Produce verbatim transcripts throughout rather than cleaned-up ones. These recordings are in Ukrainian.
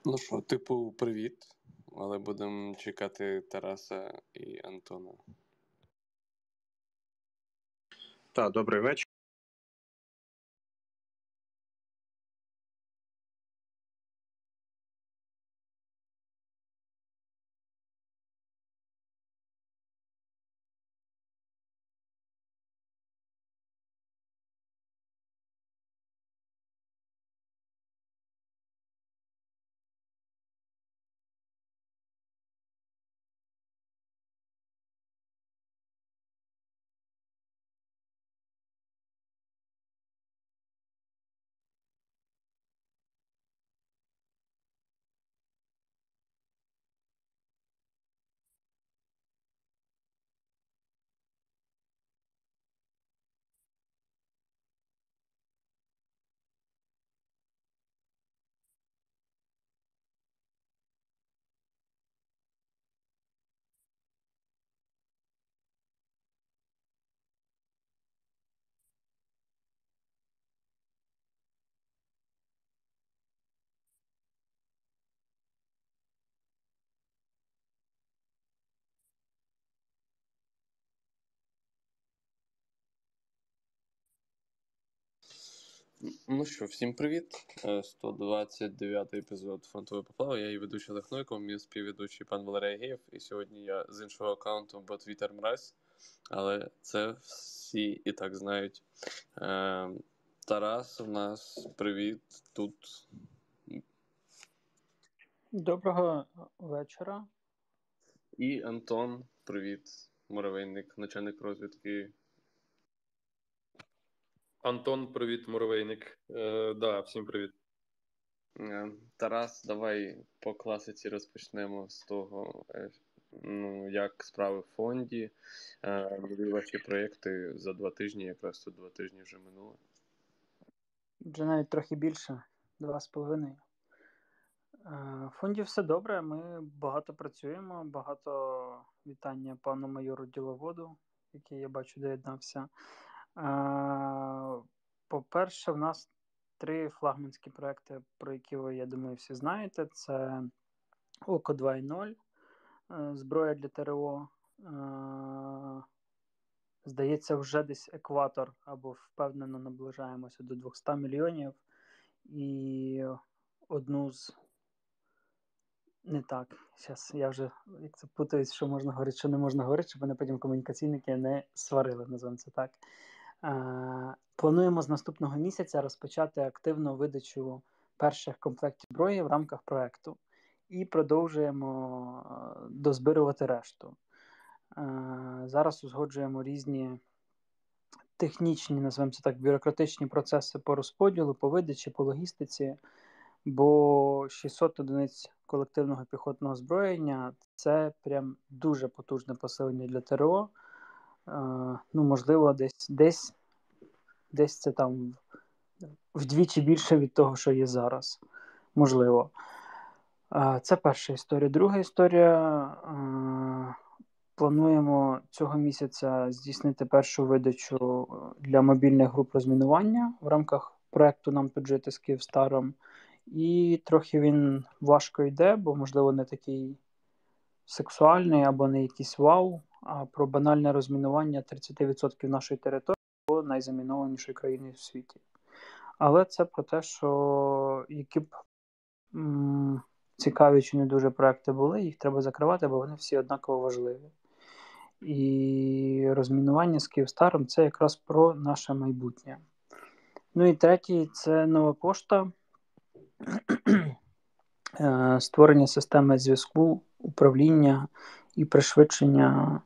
Ну що, типу, привіт, але будемо чекати Тараса і Антона. Так, добрий вечір. Ну що, всім привіт. сто двадцять дев'ятий епізод Фронтової поплави. Я її ведучий Олег Нойко, мій співведучий пан Валерій Агієв. І сьогодні я з іншого аккаунту, бо Твіттер мразь. Але це всі і так знають. Е, Тарас у нас, привіт, тут. Доброго вечора. І Антон, привіт, муравейник, начальник розвідки. Антон, привіт, муравейник. Е, да, всім привіт. Тарас, давай по класиці розпочнемо з того, ну, як справи в фонді, нові ваші проєкти за два тижні, якраз тут два тижні вже минуло. Вже навіть трохи більше, два з половиною. В фонді все добре, ми багато працюємо, багато вітання пану майору Діловоду, який, я бачу, доєднався. По-перше, в нас три флагманські проекти, про які ви, я думаю, всі знаєте. Це Око два нуль, зброя для ТРО, здається, вже десь екватор, або впевнено наближаємося до двісті мільйонів. І одну з... Не так, зараз я вже як це путаюсь, що можна говорити, що не можна говорити, щоб мене потім комунікаційники не сварили, називаємо це так. Е, плануємо з наступного місяця розпочати активну видачу перших комплектів зброї в рамках проєкту. І продовжуємо дозбирувати решту. Е, зараз узгоджуємо різні технічні, називаємо це так, бюрократичні процеси по розподілу, по видачі, по логістиці, бо шістсот одиниць колективного піхотного озброєння – це прям дуже потужне посилення для ТРО. Е, ну, можливо, десь, десь, десь це там вдвічі більше від того, що є зараз. Можливо. Е, це перша історія. Друга історія. Е, Плануємо цього місяця здійснити першу видачу для мобільних груп розмінування в рамках проєкту «Нам тут жити» з Київстаром. І трохи він важко йде, бо, можливо, не такий сексуальний або не якийсь вау, а про банальне розмінування тридцять відсотків нашої території або найзамінованішої країни в світі. Але це про те, що які б м- цікаві чи не дуже проекти були, їх треба закривати, бо вони всі однаково важливі. І розмінування з Київстаром – це якраз про наше майбутнє. Ну і третій – це нова пошта. Створення системи зв'язку, управління і пришвидшення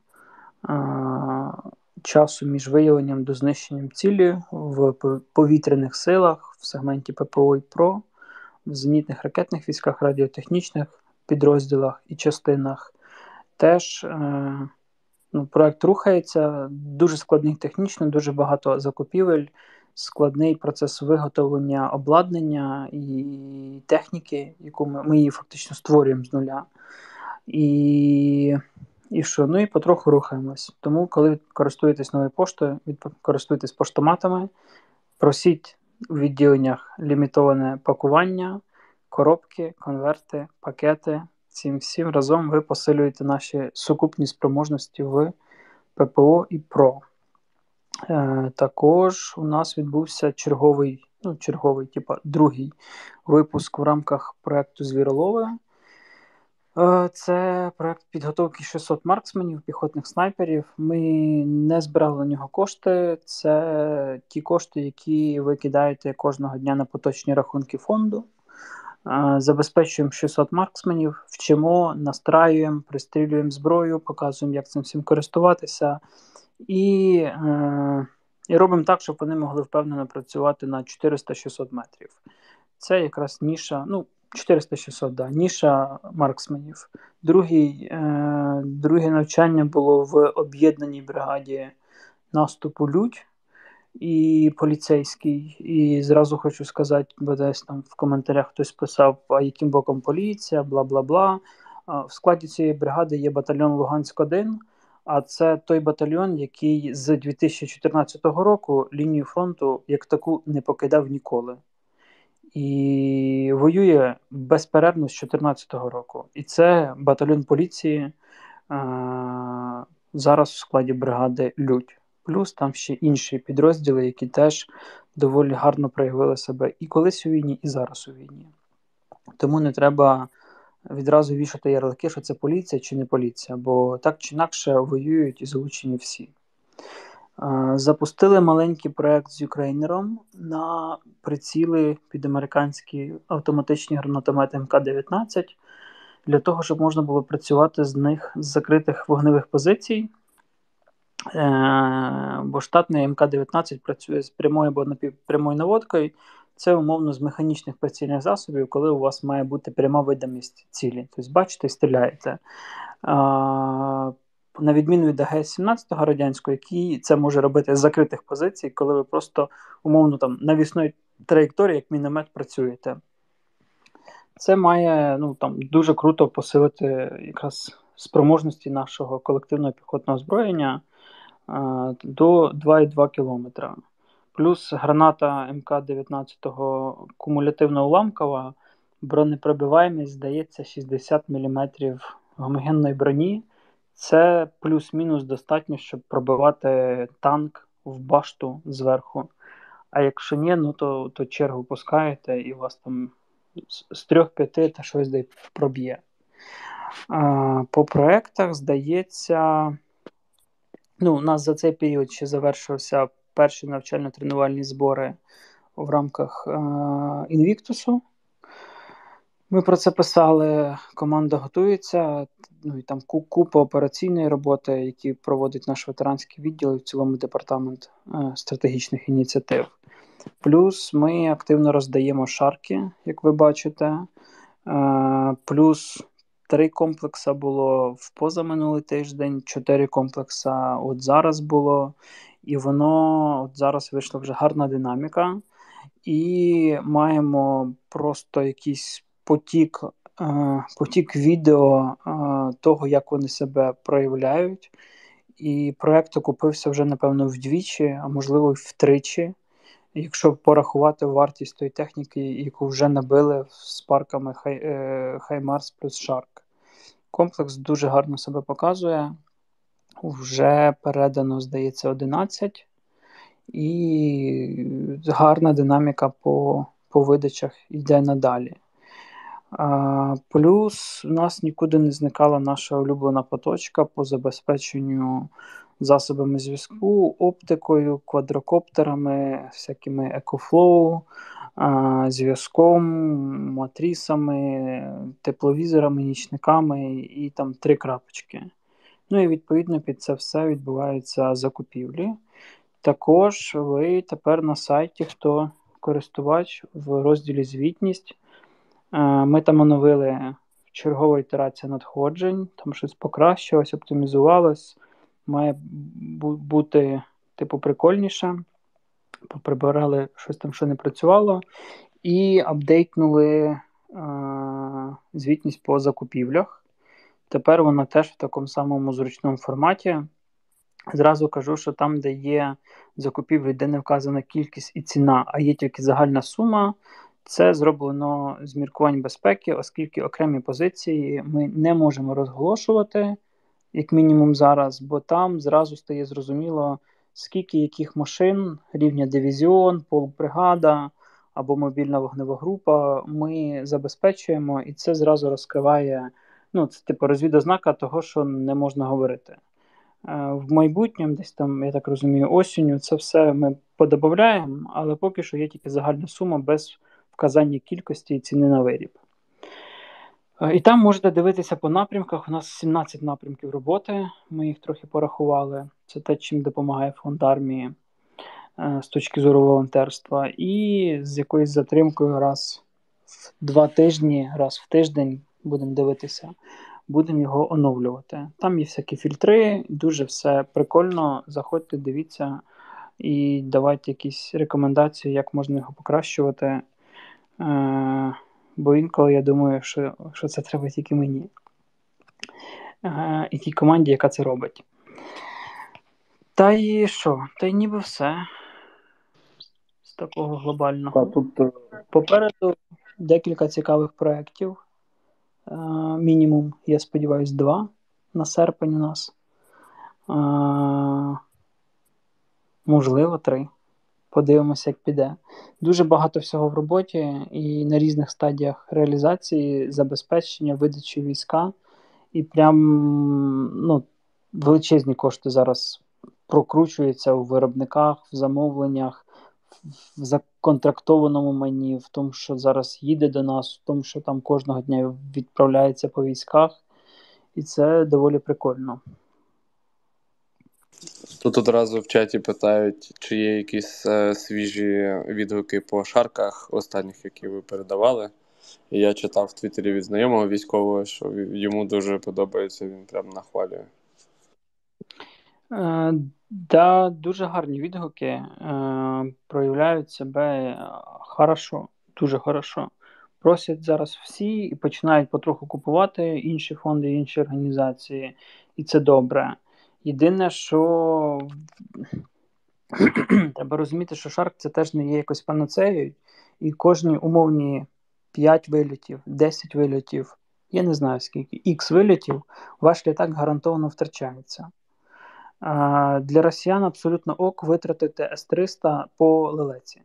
часу між виявленням до знищенням цілі в повітряних силах, в сегменті ППО і ПРО, в зенітних ракетних військах, радіотехнічних підрозділах і частинах. Теж ну, проект рухається, дуже складний технічно, дуже багато закупівель, складний процес виготовлення обладнання і техніки, яку ми, ми її фактично створюємо з нуля. І, і що? Ну і потроху рухаємось. Тому, коли користуєтесь новою поштою, користуєтесь поштоматами, просіть у відділеннях лімітоване пакування, коробки, конверти, пакети. Цим всім разом ви посилюєте наші сукупні спроможності в ППО і ПРО. Е, також у нас відбувся черговий, ну, черговий, типа, другий випуск в рамках проєкту «Звіролови». Е, це проєкт підготовки шістсот марксменів, піхотних снайперів. Ми не збирали на нього кошти. Це ті кошти, які ви кидаєте кожного дня на поточні рахунки фонду. Е, забезпечуємо шістсот марксменів, вчимо, настраюємо, пристрілюємо зброю, показуємо, як цим всім користуватися. І, е, і робимо так, щоб вони могли впевнено працювати на чотириста-шістсот метрів. Це якраз ніша, ну, чотириста-шістсот, да, ніша марксменів. Другий, е, друге навчання було в об'єднаній бригаді наступу «Людь» і поліцейський. І зразу хочу сказати, бо десь там в коментарях хтось писав, а яким боком поліція, бла-бла-бла. В складі цієї бригади є батальйон Луганськ один, а це той батальйон, який з дві тисячі чотирнадцятого року лінію фронту як таку не покидав ніколи. І воює безперервно з дві тисячі чотирнадцятого року. І це батальйон поліції а, зараз в складі бригади «Людь». Плюс там ще інші підрозділи, які теж доволі гарно проявили себе і колись у війні, і зараз у війні. Тому не треба відразу вішати ярлики, що це поліція чи не поліція, бо так чи інакше воюють і залучені всі. Запустили маленький проєкт з юкрейнером на приціли під американські автоматичні гранатомети ем ка дев'ятнадцять для того, щоб можна було працювати з них з закритих вогневих позицій. Бо штатний ем ка дев'ятнадцять працює з прямою або напівпрямою наводкою. Це умовно з механічних прицільних засобів, коли у вас має бути пряма видимість цілі. Тобто, бачите, стріляєте. А, на відміну від а ге ес сімнадцять радянського, який це може робити з закритих позицій, коли ви просто умовно там навісною траєкторії, як міномет, працюєте. Це має ну, там, дуже круто посилити якраз спроможності нашого колективного піхотного озброєння а, до два цілих два кілометра. Плюс граната ем ка дев'ятнадцять кумулятивно-уламкова, бронепробиваємість, здається, шістдесят міліметрів гомогенної броні. Це плюс-мінус достатньо, щоб пробивати танк в башту зверху. А якщо ні, ну то, то чергу пускаєте і у вас там з трьох-п'яти та щось де проб'є. А, по проєктах, здається, ну, у нас за цей період ще завершився перші навчально-тренувальні збори в рамках е- Інвіктусу. Ми про це писали, команда готується, ну і там купа операційної роботи, які проводить наш ветеранський відділ і в цілому департамент е- стратегічних ініціатив. Плюс ми активно роздаємо шарки, як ви бачите. Е- плюс три комплекси було в позаминулий тиждень, чотири комплекси от зараз було. І воно от зараз вийшла вже гарна динаміка. І маємо просто якийсь потік, е, потік відео е, того, як вони себе проявляють. І проєкт окупився вже, напевно, вдвічі, а можливо, втричі. Якщо порахувати вартість тої техніки, яку вже набили з парками Хаймарс плюс Шарк. Комплекс дуже гарно себе показує. Вже передано, здається, одинадцять. І гарна динаміка по, по видачах йде надалі. А, плюс у нас нікуди не зникала наша улюблена поточка по забезпеченню засобами зв'язку, оптикою, квадрокоптерами, всякими екофлоу, а, зв'язком, матрісами, тепловізорами, нічниками і там три крапочки. Ну і відповідно під це все відбуваються закупівлі. Також ви тепер на сайті, хто користувач, в розділі «Звітність». Ми там оновили чергова ітерація надходжень, там щось покращилось, оптимізувалось, має бути типу прикольніше. Поприбирали щось там, що не працювало, і апдейтнули а, звітність по закупівлях. Тепер вона теж в такому самому зручному форматі. Зразу кажу, що там, де є закупівлі, де не вказана кількість і ціна, а є тільки загальна сума, Це зроблено з міркувань безпеки, оскільки окремі позиції ми не можемо розголошувати, як мінімум зараз, бо там зразу стає зрозуміло, скільки яких машин, рівня дивізіон, полбригада або мобільна вогнева група ми забезпечуємо, і це зразу розкриває, ну, це типу розвідознака того, що не можна говорити. В майбутньому, десь там, я так розумію, осінню, це все ми подобавляємо, але поки що є тільки загальна сума без вказання кількості і ціни на виріб. І там можете дивитися по напрямках. У нас сімнадцять напрямків роботи, ми їх трохи порахували. Це те, чим допомагає фонд армії з точки зору волонтерства. І з якоюсь затримкою раз в два тижні, раз в тиждень будемо дивитися, будемо його оновлювати. Там є всякі фільтри, дуже все прикольно. Заходьте, дивіться і давайте якісь рекомендації, як можна його покращувати. Е- бо інколи я думаю, що, що це треба тільки мені. Е- і тій команді, яка це робить. Та і що? Та й ніби все з такого глобального. Та, тут... Попереду декілька цікавих проєктів. Е- мінімум, я сподіваюся, два на серпень у нас. Е- можливо, три. Подивимося, як піде. Дуже багато всього в роботі і на різних стадіях реалізації, забезпечення, видачі війська. І прям ну, величезні кошти зараз прокручуються у виробниках, в замовленнях, в законтрактованому майні, в тому, що зараз їде до нас, в тому, що там кожного дня відправляється по військах. І це доволі прикольно. Тут одразу в чаті питають, чи є якісь е, свіжі відгуки по шарках останніх, які ви передавали. І я читав в Твіттері від знайомого військового, що йому дуже подобається, він прям нахвалює. Е, да, дуже гарні відгуки. Е, проявляють себе хорошо, дуже хорошо. Просять зараз всі і починають потроху купувати інші фонди, інші організації. І це добре. Єдине, що треба розуміти, що Шарк це теж не є якось панацеєю, і кожні умовні п'ять вильотів, десять вильотів, я не знаю скільки, ікс вильотів, ваш літак гарантовано втрачається. А для росіян абсолютно ок витратити ес триста по лелеці.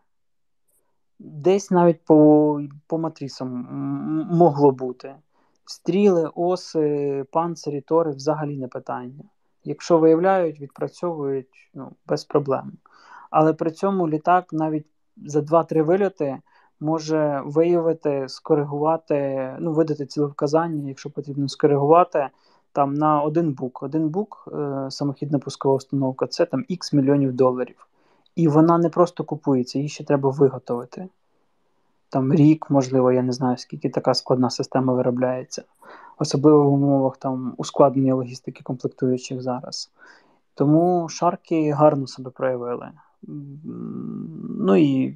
Десь навіть по, по матрісам могло бути. Стріли, оси, панцирі, тори взагалі не питання. Якщо виявляють, відпрацьовують, ну, без проблем. Але при цьому літак навіть за два-три вильоти може виявити, скоригувати, ну, видати цілевказання, якщо потрібно скоригувати, там на один бук. Один бук, е, самохідна пускова установка, це там ікс мільйонів доларів. І вона не просто купується, її ще треба виготовити. Там рік, можливо, я не знаю, скільки така складна система виробляється. Особливо в умовах там ускладнення логістики комплектуючих зараз. Тому шарки гарно себе проявили. Ну і,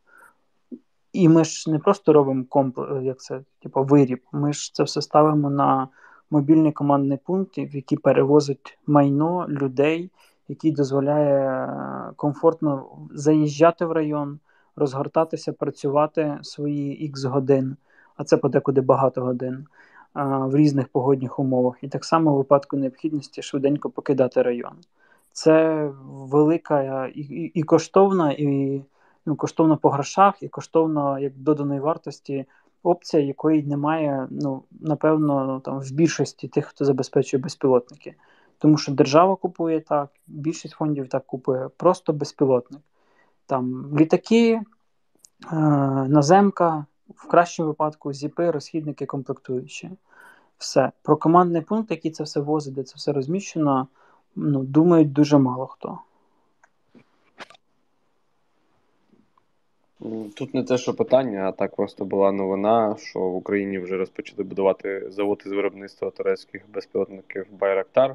і ми ж не просто робимо комплекс, як це, типу, виріб. Ми ж це все ставимо на мобільний командний пункт, в який перевозить майно людей, який дозволяє комфортно заїжджати в район, розгортатися, працювати свої ікс годин, а це подекуди багато годин, в різних погодних умовах. І так само в випадку необхідності швиденько покидати район. Це велика і, і, і коштовна, і ну, коштовно по грошах, і коштовно як доданої вартості опція, якої немає, ну, напевно, там в більшості тих, хто забезпечує безпілотники. Тому що держава купує так, більшість фондів так купує, просто безпілотник. Там літаки, е- наземка, в кращому випадку зіпи, розхідники, комплектуючі. Все. Про командний пункт, який це все возить, де це все розміщено, ну, думають дуже мало хто. Тут не те, що питання, а так просто була новина, що в Україні вже розпочали будувати завод із виробництва турецьких безпілотників Байрактар.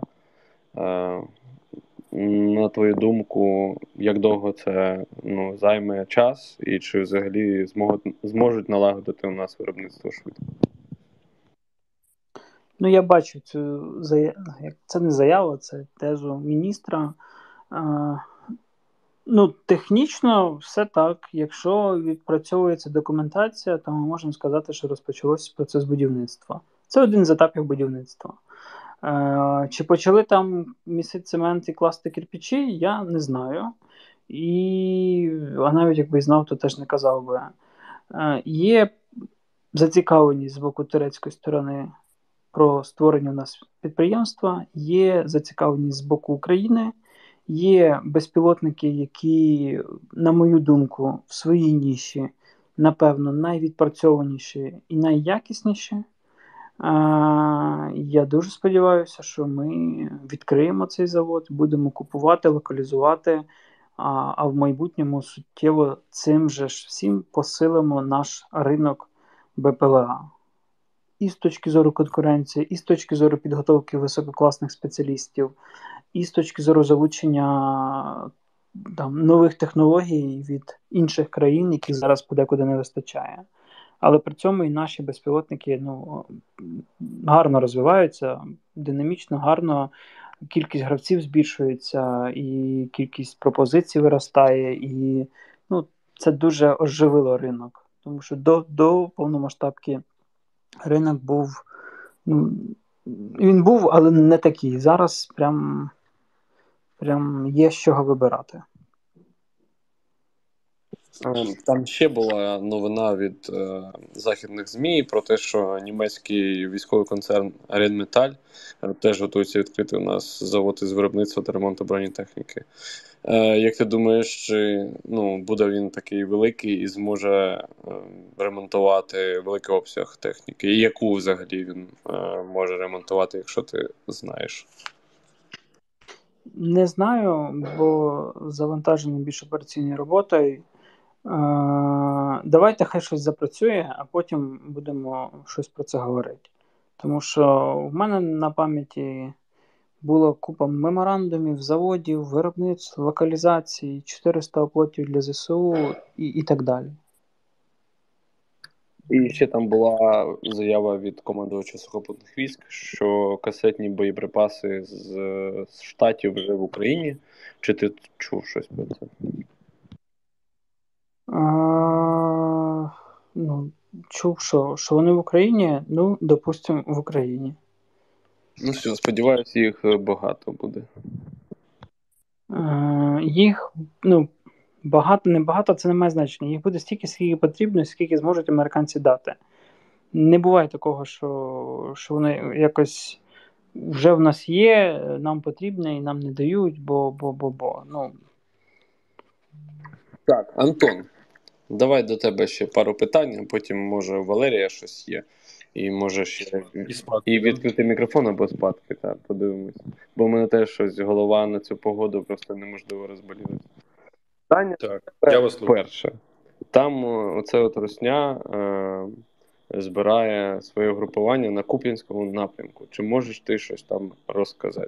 На твою думку, як довго це, ну, займе час, і чи взагалі зможуть, зможуть налагодити у нас виробництво швидко? Ну, я бачу цю заяву, це не заява, це тезу міністра. Ну, технічно все так. Якщо відпрацьовується документація, то ми можемо сказати, що розпочався процес будівництва. Це один з етапів будівництва. Е, Чи почали там місити цемент і класти кирпичі, я не знаю. І, а навіть якби знав, то теж не казав би. Е, Є зацікавленість з боку турецької сторони про створення у нас підприємства, є зацікавленість з боку України, є безпілотники, які, на мою думку, в своїй ніші, напевно, найвідпрацьованіші і найякісніші. Я дуже сподіваюся, що ми відкриємо цей завод, будемо купувати, локалізувати, а, а в майбутньому суттєво цим же ж всім посилимо наш ринок БПЛА. І з точки зору конкуренції, і з точки зору підготовки висококласних спеціалістів, і з точки зору залучення там, нових технологій від інших країн, яких зараз подекуди не вистачає. Але при цьому і наші безпілотники ну, гарно розвиваються, динамічно, гарно. Кількість гравців збільшується, і кількість пропозицій виростає, і ну, це дуже оживило ринок. Тому що до, до повномасштабки ринок був, ну, він був, але не такий. Зараз прям, прям є з чого вибирати. Там ще була новина від е, західних ЗМІ про те, що німецький військовий концерн Rheinmetall е, теж готується відкрити у нас завод із виробництва та ремонту бронетехніки. Е, як ти думаєш, чи ну, буде він такий великий і зможе е, ремонтувати великий обсяг техніки? І яку взагалі він е, може ремонтувати, якщо ти знаєш? Не знаю, бо завантажені більш операційною роботою. Давайте хай щось запрацює, а потім будемо щось про це говорити. Тому що в мене на пам'яті було купа меморандумів, заводів, виробництв, локалізацій, чотириста оплотів для ЗСУ і, і так далі. І ще там була заява від командувача сухопутних військ, що касетні боєприпаси з, з Штатів вже в Україні. Чи ти чув щось про це? А, ну, чув, що, що вони в Україні, ну, допустимо, в Україні. Ну все, сподіваюся, їх багато буде. А, їх, ну, багато, не багато, це не має значення. Їх буде стільки, скільки потрібно, скільки зможуть американці дати. Не буває такого, що, що вони якось вже в нас є, нам потрібне і нам не дають, бо, бо, бо, бо. Ну. Так, Антон, давай до тебе ще пару питань, а потім, може, у Валерія щось є. І може ще І спати, і відкрити мікрофон або спадки, так, подивимось. Бо в мене теж щось голова на цю погоду просто неможливо розболіти. Питання Так, я вас слухаю. перше. Там оце от Русня е, збирає своє групування на Куп'янському напрямку. Чи можеш ти щось там розказати?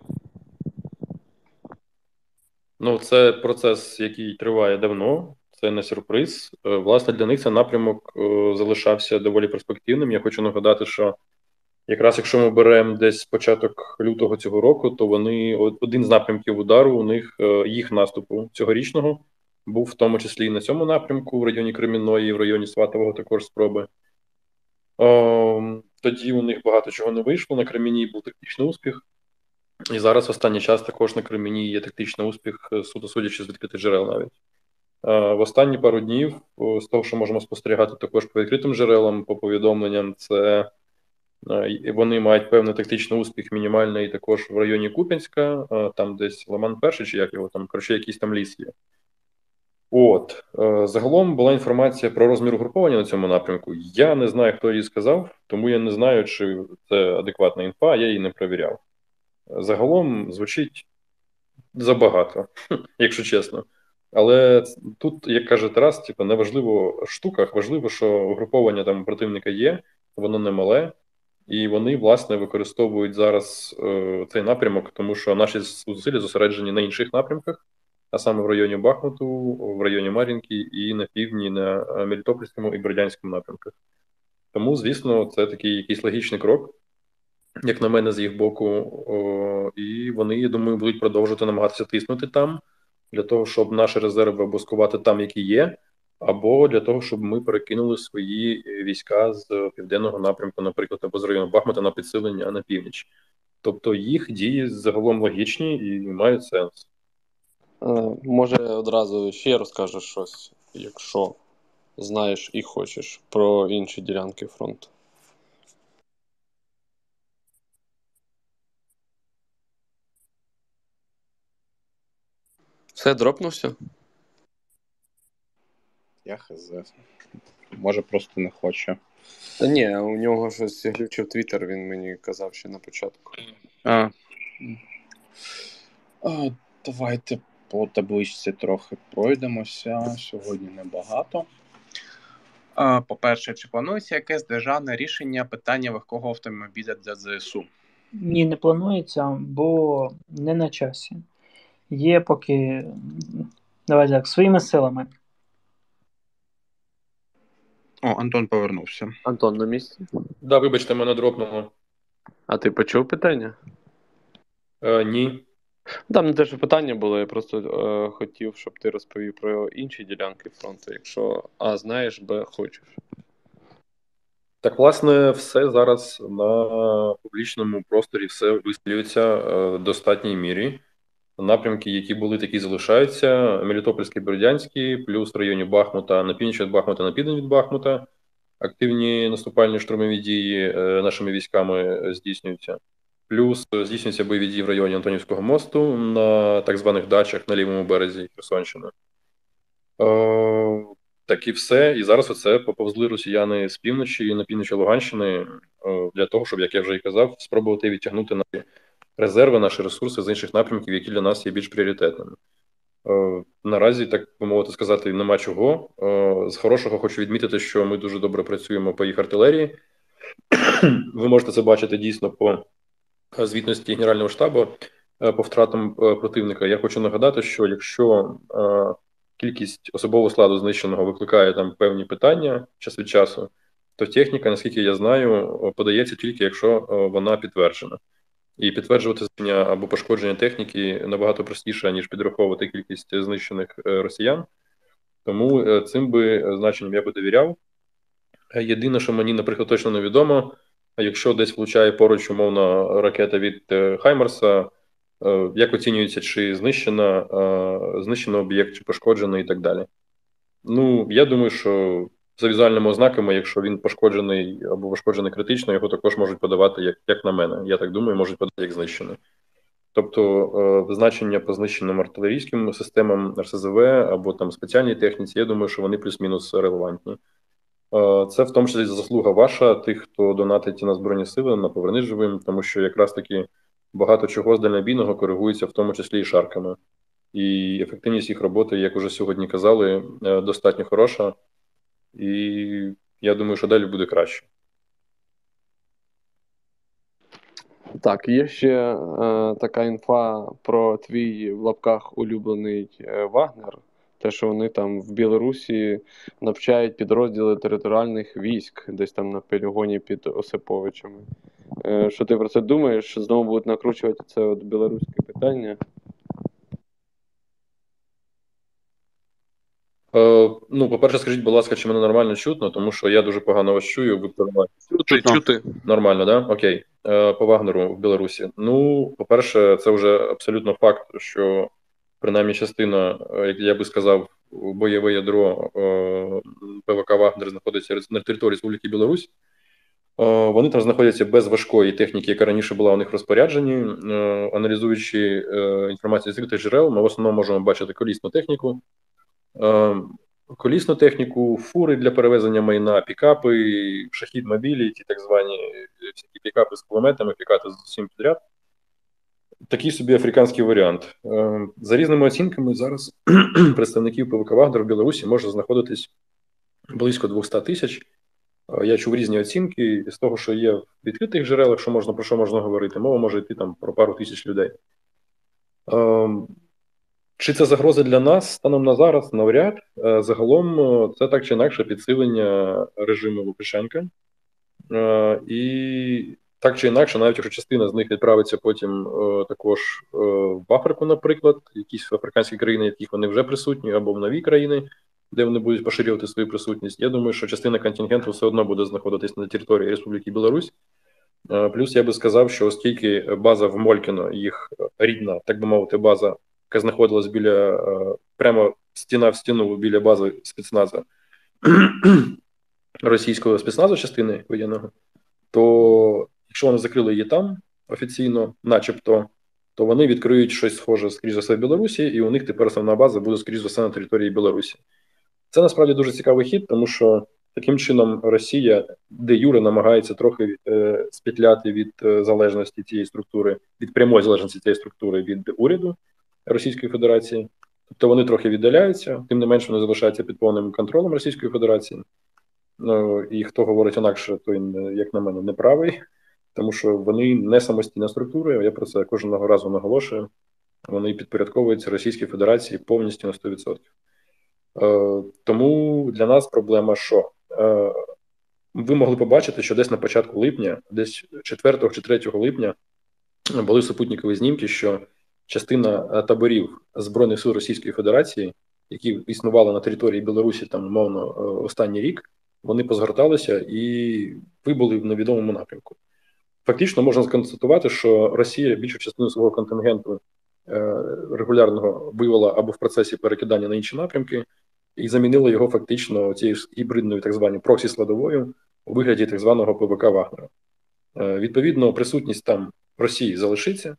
Ну, це процес, який триває давно, це не сюрприз. Е, Власне, для них цей напрямок е, залишався доволі перспективним. Я хочу нагадати, що якраз якщо ми беремо десь початок лютого цього року, то вони один з напрямків удару у них, е, їх наступу цьогорічного, був в тому числі і на цьому напрямку, в районі Кремінної, в районі Сватового також спроби. О, тоді у них багато чого не вийшло. На Кремінній був тактичний успіх. І зараз в останній час також на Кремінні є тактичний успіх, суто судячи з відкритих джерел навіть. Е, В останні пару днів, о, з того, що можемо спостерігати також по відкритим джерелам, по повідомленням, це е, вони мають певний тактичний успіх мінімальний також в районі Куп'янська, е, там десь Лиман Перший, чи як його там, коротше, якийсь там ліс є. От, е, загалом була інформація про розмір угруповання на цьому напрямку. Я не знаю, хто її сказав, тому я не знаю, чи це адекватна інфа, я її не перевіряв. Загалом звучить забагато, якщо чесно. Але тут, як каже Тарас, типу, не важливо в штуках, важливо, що угруповання там противника є, воно не мале, і вони, власне, використовують зараз е, цей напрямок, тому що наші зусилля зосереджені на інших напрямках, а саме в районі Бахмуту, в районі Мар'їнки і на півдні, на Мелітопольському і Бердянському напрямках. Тому, звісно, це такий якийсь логічний крок, як на мене, з їх боку, о, і вони, я думаю, будуть продовжувати намагатися тиснути там. для того, щоб наші резерви або скувати там, які є, або для того, щоб ми перекинули свої війська з південного напрямку, наприклад, або з району Бахмута на підсилення на північ. Тобто їх дії загалом логічні і мають сенс. Може, одразу ще розкажеш щось, якщо знаєш і хочеш, про інші ділянки фронту. Все, дропнувся? Я хз. Може, просто не хоче. Та ні, у нього щось глючив твіттер, він мені казав ще на початку. А. А, давайте по табличці трохи пройдемося. Сьогодні небагато. А, по-перше, чи планується якесь державне рішення питання легкого автомобіля для ЗСУ? Ні, не планується, бо не на часі. Є поки, давай так, своїми силами. О, Антон повернувся. Антон на місці? Да, вибачте, мене дропнуло. А ти почув питання? Е, ні. Там не те, що питання було, я просто е, хотів, щоб ти розповів про інші ділянки фронту, якщо А знаєш, Б хочеш. Так, власне, все зараз на публічному просторі все висвітлюється в достатній мірі. Напрямки, які були, такі залишаються. Мелітопольський, Бердянський, плюс в районі Бахмута, на північ від Бахмута, на південь від Бахмута. Активні наступальні штурмові дії нашими військами здійснюються. Плюс здійснюються бойові дії в районі Антонівського мосту на так званих дачах на лівому березі Херсонщини. Е, так і все. І зараз оце поповзли росіяни з півночі на півночі Луганщини е, для того, щоб, як я вже і казав, спробувати відтягнути наші резерви, наші ресурси з інших напрямків, які для нас є більш пріоритетними. Е, наразі, так би мовити сказати, нема чого. Е, з хорошого хочу відмітити, що ми дуже добре працюємо по їх артилерії. Ви можете це бачити дійсно по звітності Генерального штабу по втратам противника. Я хочу нагадати, що якщо е, кількість особового складу знищеного викликає там певні питання час від часу, то техніка, наскільки я знаю, подається тільки, якщо вона підтверджена. І підтверджувати знищення або пошкодження техніки набагато простіше, ніж підраховувати кількість знищених росіян. Тому цим би значенням я би довіряв. Єдине, що мені, наприклад, точно невідомо, якщо десь влучає поруч, умовно, ракета від Хаймарса, як оцінюється, чи знищена, знищено об'єкт, чи пошкоджений і так далі. Ну, я думаю, що за візуальними ознаками, якщо він пошкоджений або пошкоджений критично, його також можуть подавати, як, як на мене. Я так думаю, можуть подати як знищений. Тобто, значення по знищеним артилерійським системам ар ес зе ве або там спеціальній техніці, я думаю, що вони плюс-мінус релевантні. Це в тому числі заслуга ваша, тих, хто донатить на Збройні Сили, на «Повернись живим», тому що якраз таки багато чого з дальнобійного коригується, в тому числі і шарками. І ефективність їх роботи, як уже сьогодні казали, достатньо хороша. І я думаю, що далі буде краще. Так, є ще е, така інфа про твій в лапках улюблений е, Вагнер. Те, що вони там в Білорусі навчають підрозділи територіальних військ, десь там на полігоні під Осиповичами. Е, що ти про це думаєш? Що знову будуть накручувати це от білоруське питання? Е, ну, по-перше, скажіть, будь ласка, чи мене нормально чутно, тому що я дуже погано вас чую. Ви чути, чути. Нормально, да? Окей. Е, по Вагнеру в Білорусі. Ну, по-перше, це вже абсолютно факт, що принаймні частина, як я би сказав, бойове ядро е, ПВК «Вагнер» знаходиться на території Республіки Білорусь. Е, вони там знаходяться без важкої техніки, яка раніше була у них в розпорядженні. Е, аналізуючи е, інформацію з відкритих джерел, ми в основному можемо бачити колісну техніку, е, колісну техніку, фури для перевезення майна, пікапи, шахід-мобілі, ті так звані всякі пікапи з кулеметами, пікати з усім підряд. Такий собі африканський варіант. За різними оцінками, зараз представників ПВК «Вагнер» в Білорусі може знаходитись близько двісті тисяч. Я чув різні оцінки. З того, що є в відкритих джерелах, що можна, про що можна говорити, мова може йти там про пару тисяч людей. Чи це загроза для нас станом на зараз? Навряд. Загалом це так чи інакше підсилення режиму Лукашенка. І Так чи інакше, навіть якщо частина з них відправиться потім е, також е, в Африку, наприклад, якісь африканські країни, в яких вони вже присутні, або в нові країни, де вони будуть поширювати свою присутність, я думаю, що частина контингенту все одно буде знаходитись на території Республіки Білорусь. Е, плюс я би сказав, що оскільки база в Молькіно, їх рідна, так би мовити, база, яка знаходилась біля, е, прямо стіна в стіну біля бази спецназа, російського спецназу частини воєнного, то якщо вони закрили її там офіційно, начебто, то вони відкриють щось схоже, скоріш за все, в Білорусі, і у них тепер основна база буде, скоріш за все, на території Білорусі. Це насправді дуже цікавий хід, тому що таким чином Росія де юре намагається трохи е, спетляти від е, залежності цієї структури, від прямої залежності цієї структури від уряду Російської Федерації. Тобто вони трохи віддаляються, тим не менше вони залишаються під повним контролем Російської Федерації. Ну, і хто говорить інакше, той, як на мене, не правий, тому що вони не самостійна структура, я про це кожного разу наголошую, вони підпорядковуються Російській Федерації повністю на сто відсотків. Е, тому для нас проблема, що е, ви могли побачити, що десь на початку липня, десь четвертого чи третього липня були супутникові знімки, що частина таборів Збройних сил Російської Федерації, які існували на території Білорусі там, умовно, останній рік, вони позгорталися і вибули в невідомому напрямку. Фактично можна констатувати, що Росія більшу частину свого контингенту е, регулярного вивела або в процесі перекидання на інші напрямки і замінила його фактично цією гібридною так званою проксі-складовою у вигляді так званого ПВК Вагнера. Е, відповідно, присутність там Росії залишиться.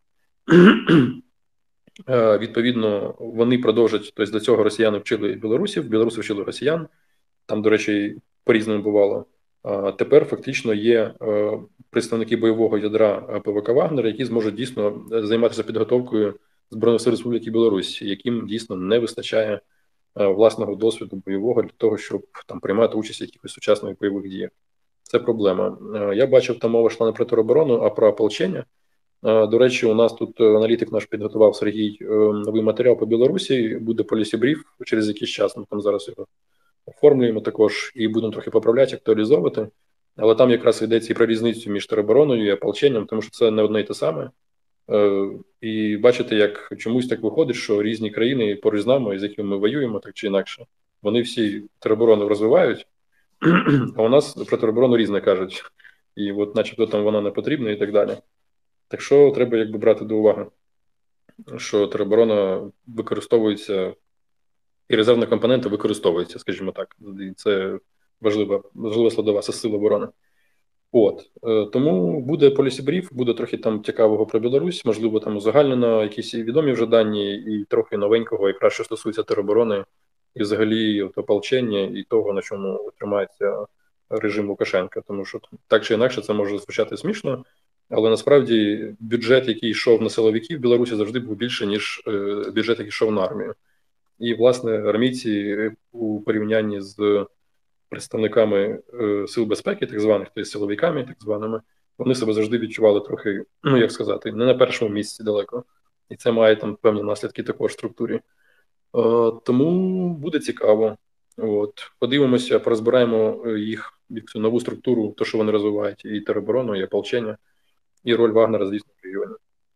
е, відповідно, вони продовжать, тобто до цього росіяни вчили білорусів, білоруси вчили росіян. Там, до речі, по-різному бувало. А тепер фактично є е, представники бойового ядра ПВК Вагнера, які зможуть дійсно займатися підготовкою Збройних сил Республіки Білорусь, яким дійсно не вистачає е, власного досвіду бойового для того, щоб там приймати участь в якихось сучасних бойових діях. Це проблема. Е, я бачив, там мова йшла не про тероборону, а про ополчення. Е, до речі, у нас тут аналітик наш підготував Сергій е, новий матеріал по Білорусі, буде полісі-бриф через якийсь час, ми там зараз його оформлюємо також і будемо трохи поправляти, актуалізовувати. Але там якраз йдеться і про різницю між теробороною і ополченням, тому що це не одне й те саме. Е, і бачите, як чомусь так виходить, що різні країни поруч з нами, з якими ми воюємо, так чи інакше, вони всі тероборону розвивають, а у нас про тероборону різне кажуть. І от начебто там вона не потрібна і так далі. Так що треба якби брати до уваги, що тероборона використовується і резервні компоненти використовуються, скажімо так. І це важлива, важлива складова сил оборони. От. Е, тому буде полісі-бриф, буде трохи там цікавого про Білорусь, можливо, там узагальнено якісь відомі вже дані, і трохи новенького, якраз що стосується тероборони, і взагалі от, ополчення, і того, на чому тримається режим Лукашенка. Тому що так чи інакше це може звучати смішно, але насправді бюджет, який йшов на силовиків в Білорусі, завжди був більше, ніж е, бюджет, який йшов на армію. І, власне, армійці у порівнянні з представниками е, сил безпеки, так званих, тобто силовиками, так званими, вони себе завжди відчували трохи, ну, як сказати, не на першому місці далеко. І це має там певні наслідки також в структурі. Е, тому буде цікаво. От. Подивимося, порозбираємо їх, цю нову структуру, то, що вони розвивають, і тероборону, і ополчення, і роль Вагнера, звісно, в регіоні.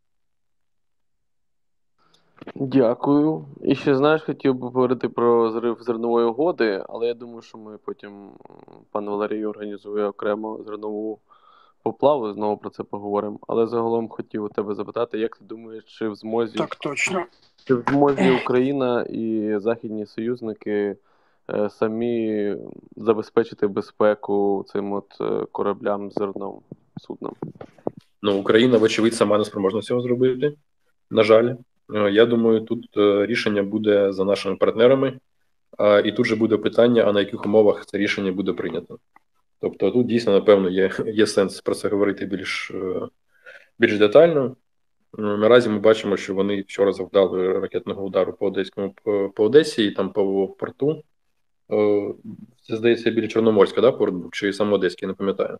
Дякую. І ще, знаєш, хотів би поговорити про зрив зернової угоди, але я думаю, що ми потім, пан Валерій організує окремо зернову поплаву, знову про це поговоримо. Але загалом хотів у тебе запитати, як ти думаєш, чи в змозі, Так, точно. чи в змозі Україна і західні союзники е, самі забезпечити безпеку цим от е, кораблям з зерном, судном? Ну, Україна, вочевидь, сама не спроможна цього зробити, на жаль. Я думаю, тут рішення буде за нашими партнерами, і тут же буде питання, а на яких умовах це рішення буде прийнято. Тобто тут дійсно, напевно, є, є сенс про це говорити більш, більш детально. Наразі ми бачимо, що вони вчора завдали ракетного удару по Одеському, по Одесі і там по порту. Це, здається, біля Чорноморська, да, порт був, чи саме Одеський, не пам'ятаю.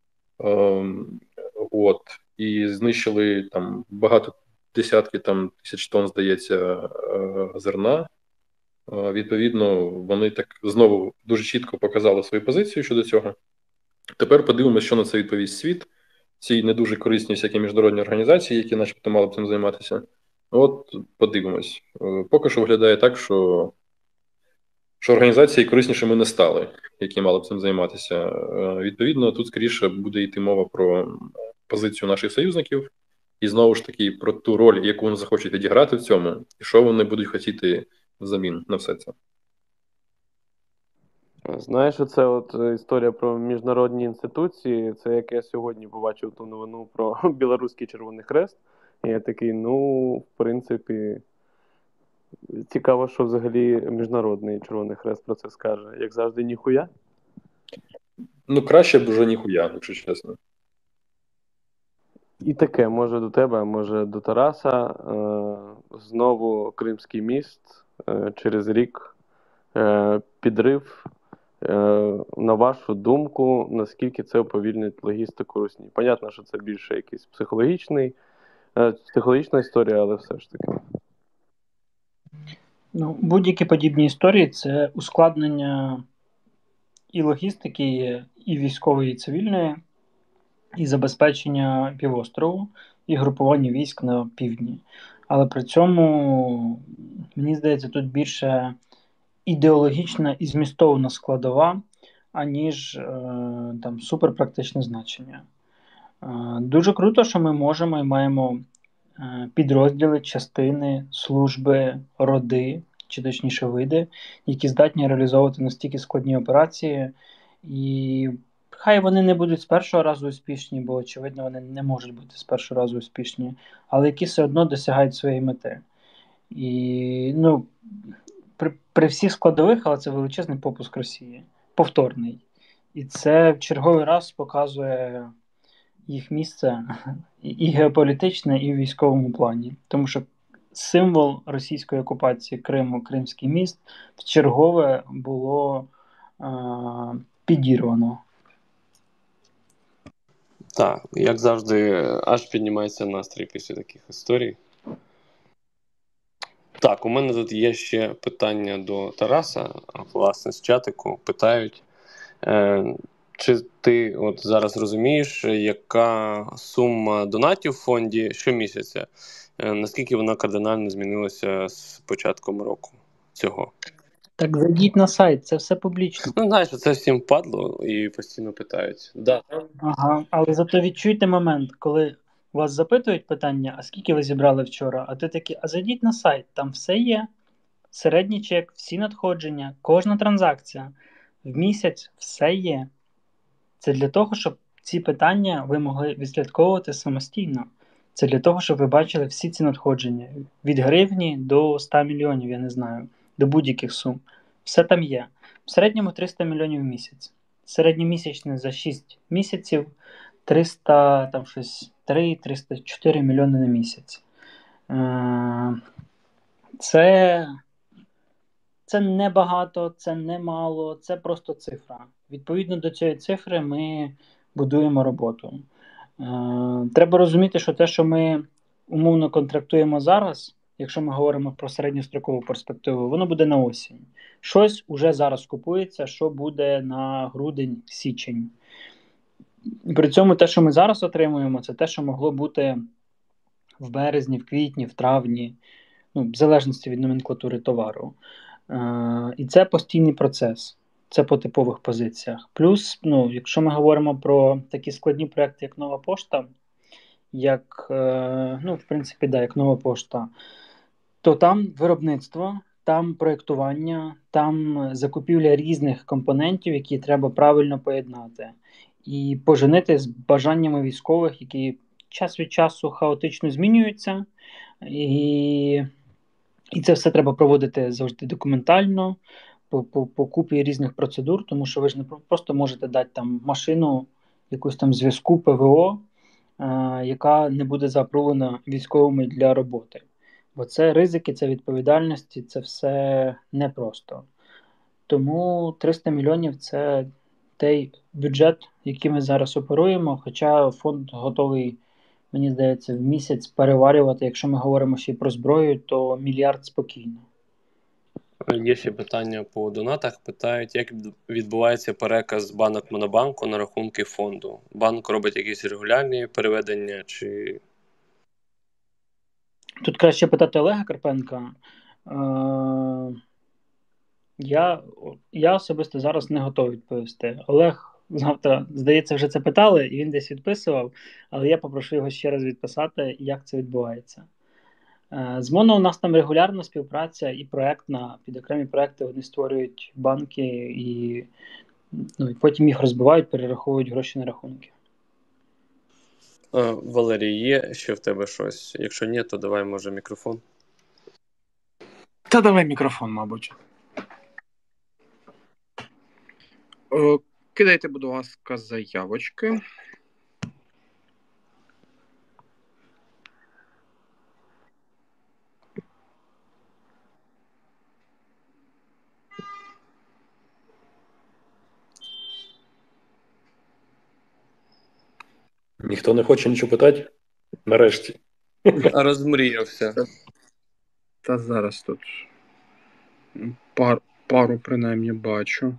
От. І знищили там багато десятки там тисяч тонн, здається, зерна. Відповідно, вони так знову дуже чітко показали свою позицію щодо цього. Тепер подивимося, що на це відповість світ. ці не дуже корисні всякі міжнародні організації, які начебто мали б цим займатися. От подивимось. Поки що виглядає так, що, що організації кориснішими не стали, які мали б цим займатися. Відповідно, тут скоріше буде йти мова про позицію наших союзників і знову ж таки про ту роль, яку вони захочуть відіграти в цьому, і що вони будуть хотіти взамін на все це. Знаєш, оце от історія про міжнародні інституції, це як я сьогодні побачив ту новину про Білоруський Червоний Хрест. І я такий, ну, в принципі, цікаво, що взагалі Міжнародний Червоний Хрест про це скаже. Як завжди, ніхуя? Ну, краще б вже ніхуя, якщо чесно. І таке, може до тебе, може до Тараса. Е, знову Кримський міст, е, через рік е, підрив. На вашу думку, наскільки це уповільнить логістику Русні? Понятно, що це більше якийсь психологічний, психологічна історія, але все ж таки. Ну, будь-які подібні історії – це ускладнення і логістики, і військової, і цивільної, і забезпечення півострову, і групування військ на півдні. Але при цьому, мені здається, тут більше ідеологічна і змістовна складова, аніж е, там суперпрактичне значення. Е, дуже круто, що ми можемо і маємо е, підрозділи, частини, служби, роди, чи точніше види, які здатні реалізовувати настільки складні операції. І хай вони не будуть з першого разу успішні, бо, очевидно, вони не можуть бути з першого разу успішні, але які все одно досягають своєї мети. І, ну, При, при всіх складових, але це величезний попуск Росії. Повторний. І це в черговий раз показує їх місце і геополітичне, і в військовому плані. Тому що символ російської окупації Криму, Кримський міст, в чергове було е- підірвано. Так, як завжди, аж піднімається настрій після таких історій. Так, у мене тут є ще питання до Тараса, власне, з чатику. Питають, е, чи ти от зараз розумієш, яка сума донатів в фонді щомісяця? Е, наскільки вона кардинально змінилася з початком року цього? Так зайдіть на сайт, це все публічно. Ну, знаєш, це всім падло і постійно питають. Да. Ага, але зато відчуйте момент, коли вас запитують питання, а скільки ви зібрали вчора, а ти такий, а зайдіть на сайт, там все є. Середній чек, всі надходження, кожна транзакція в місяць, все є. Це для того, щоб ці питання ви могли відслідковувати самостійно. Це для того, щоб ви бачили всі ці надходження. Від гривні до ста мільйонів, я не знаю, до будь-яких сум. Все там є. В середньому триста мільйонів в місяць. Середньомісячне за шість місяців триста, там щось три триста чотири мільйони на місяць. Це... Це не багато, це не мало, це просто цифра. Відповідно до цієї цифри ми будуємо роботу. Е, треба розуміти, що те, що ми умовно контрактуємо зараз, якщо ми говоримо про середньострокову перспективу, воно буде на осінь. Щось уже зараз купується, що буде на грудень-січень. При цьому те, що ми зараз отримуємо, це те, що могло бути в березні, в квітні, в травні, ну, в залежності від номенклатури товару. Uh, і це постійний процес, це по типових позиціях. Плюс, ну, якщо ми говоримо про такі складні проекти, як Нова Пошта, як, uh, ну, в принципі, да, як Нова Пошта, то там виробництво, там проєктування, там закупівля різних компонентів, які треба правильно поєднати. І поженити з бажаннями військових, які час від часу хаотично змінюються. І... І це все треба проводити завжди документально, по, по, по купі різних процедур, тому що ви ж не просто можете дати там машину, якусь там зв'язку ПВО, е, яка не буде запровлена військовими для роботи. Бо це ризики, це відповідальності, це все непросто. Тому триста мільйонів – це той бюджет, яким ми зараз оперуємо, хоча фонд готовий, мені здається, в місяць переварювати, якщо ми говоримо ще й про зброю, то мільярд спокійно. Є ще питання по донатах. Питають, як відбувається переказ з банок Монобанку на рахунки фонду? Банк робить якісь регулярні переведення чи. Тут краще питати Олега Карпенка. Е, Я, я особисто зараз не готовий відповісти. Олег завтра, здається, вже це питали, і він десь відписував, але я попрошу його ще раз відписати, як це відбувається. Е, З Моно у нас там регулярна співпраця і проектна, під окремі проекти вони створюють банки і, ну, і потім їх розбивають, перераховують гроші на рахунки. Е, Валерій, є ще в тебе щось? Якщо ні, то давай, може, мікрофон. Та давай мікрофон, мабуть. Е, Кидайте, будь ласка, заявочки. Ніхто не хоче нічого питати? Нарешті. Розмріявся. Та зараз тут пар, пару принаймні бачу.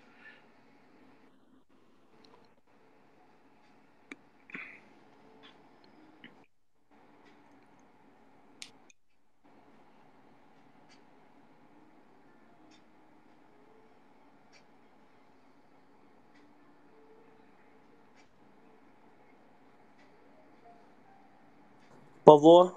Павло?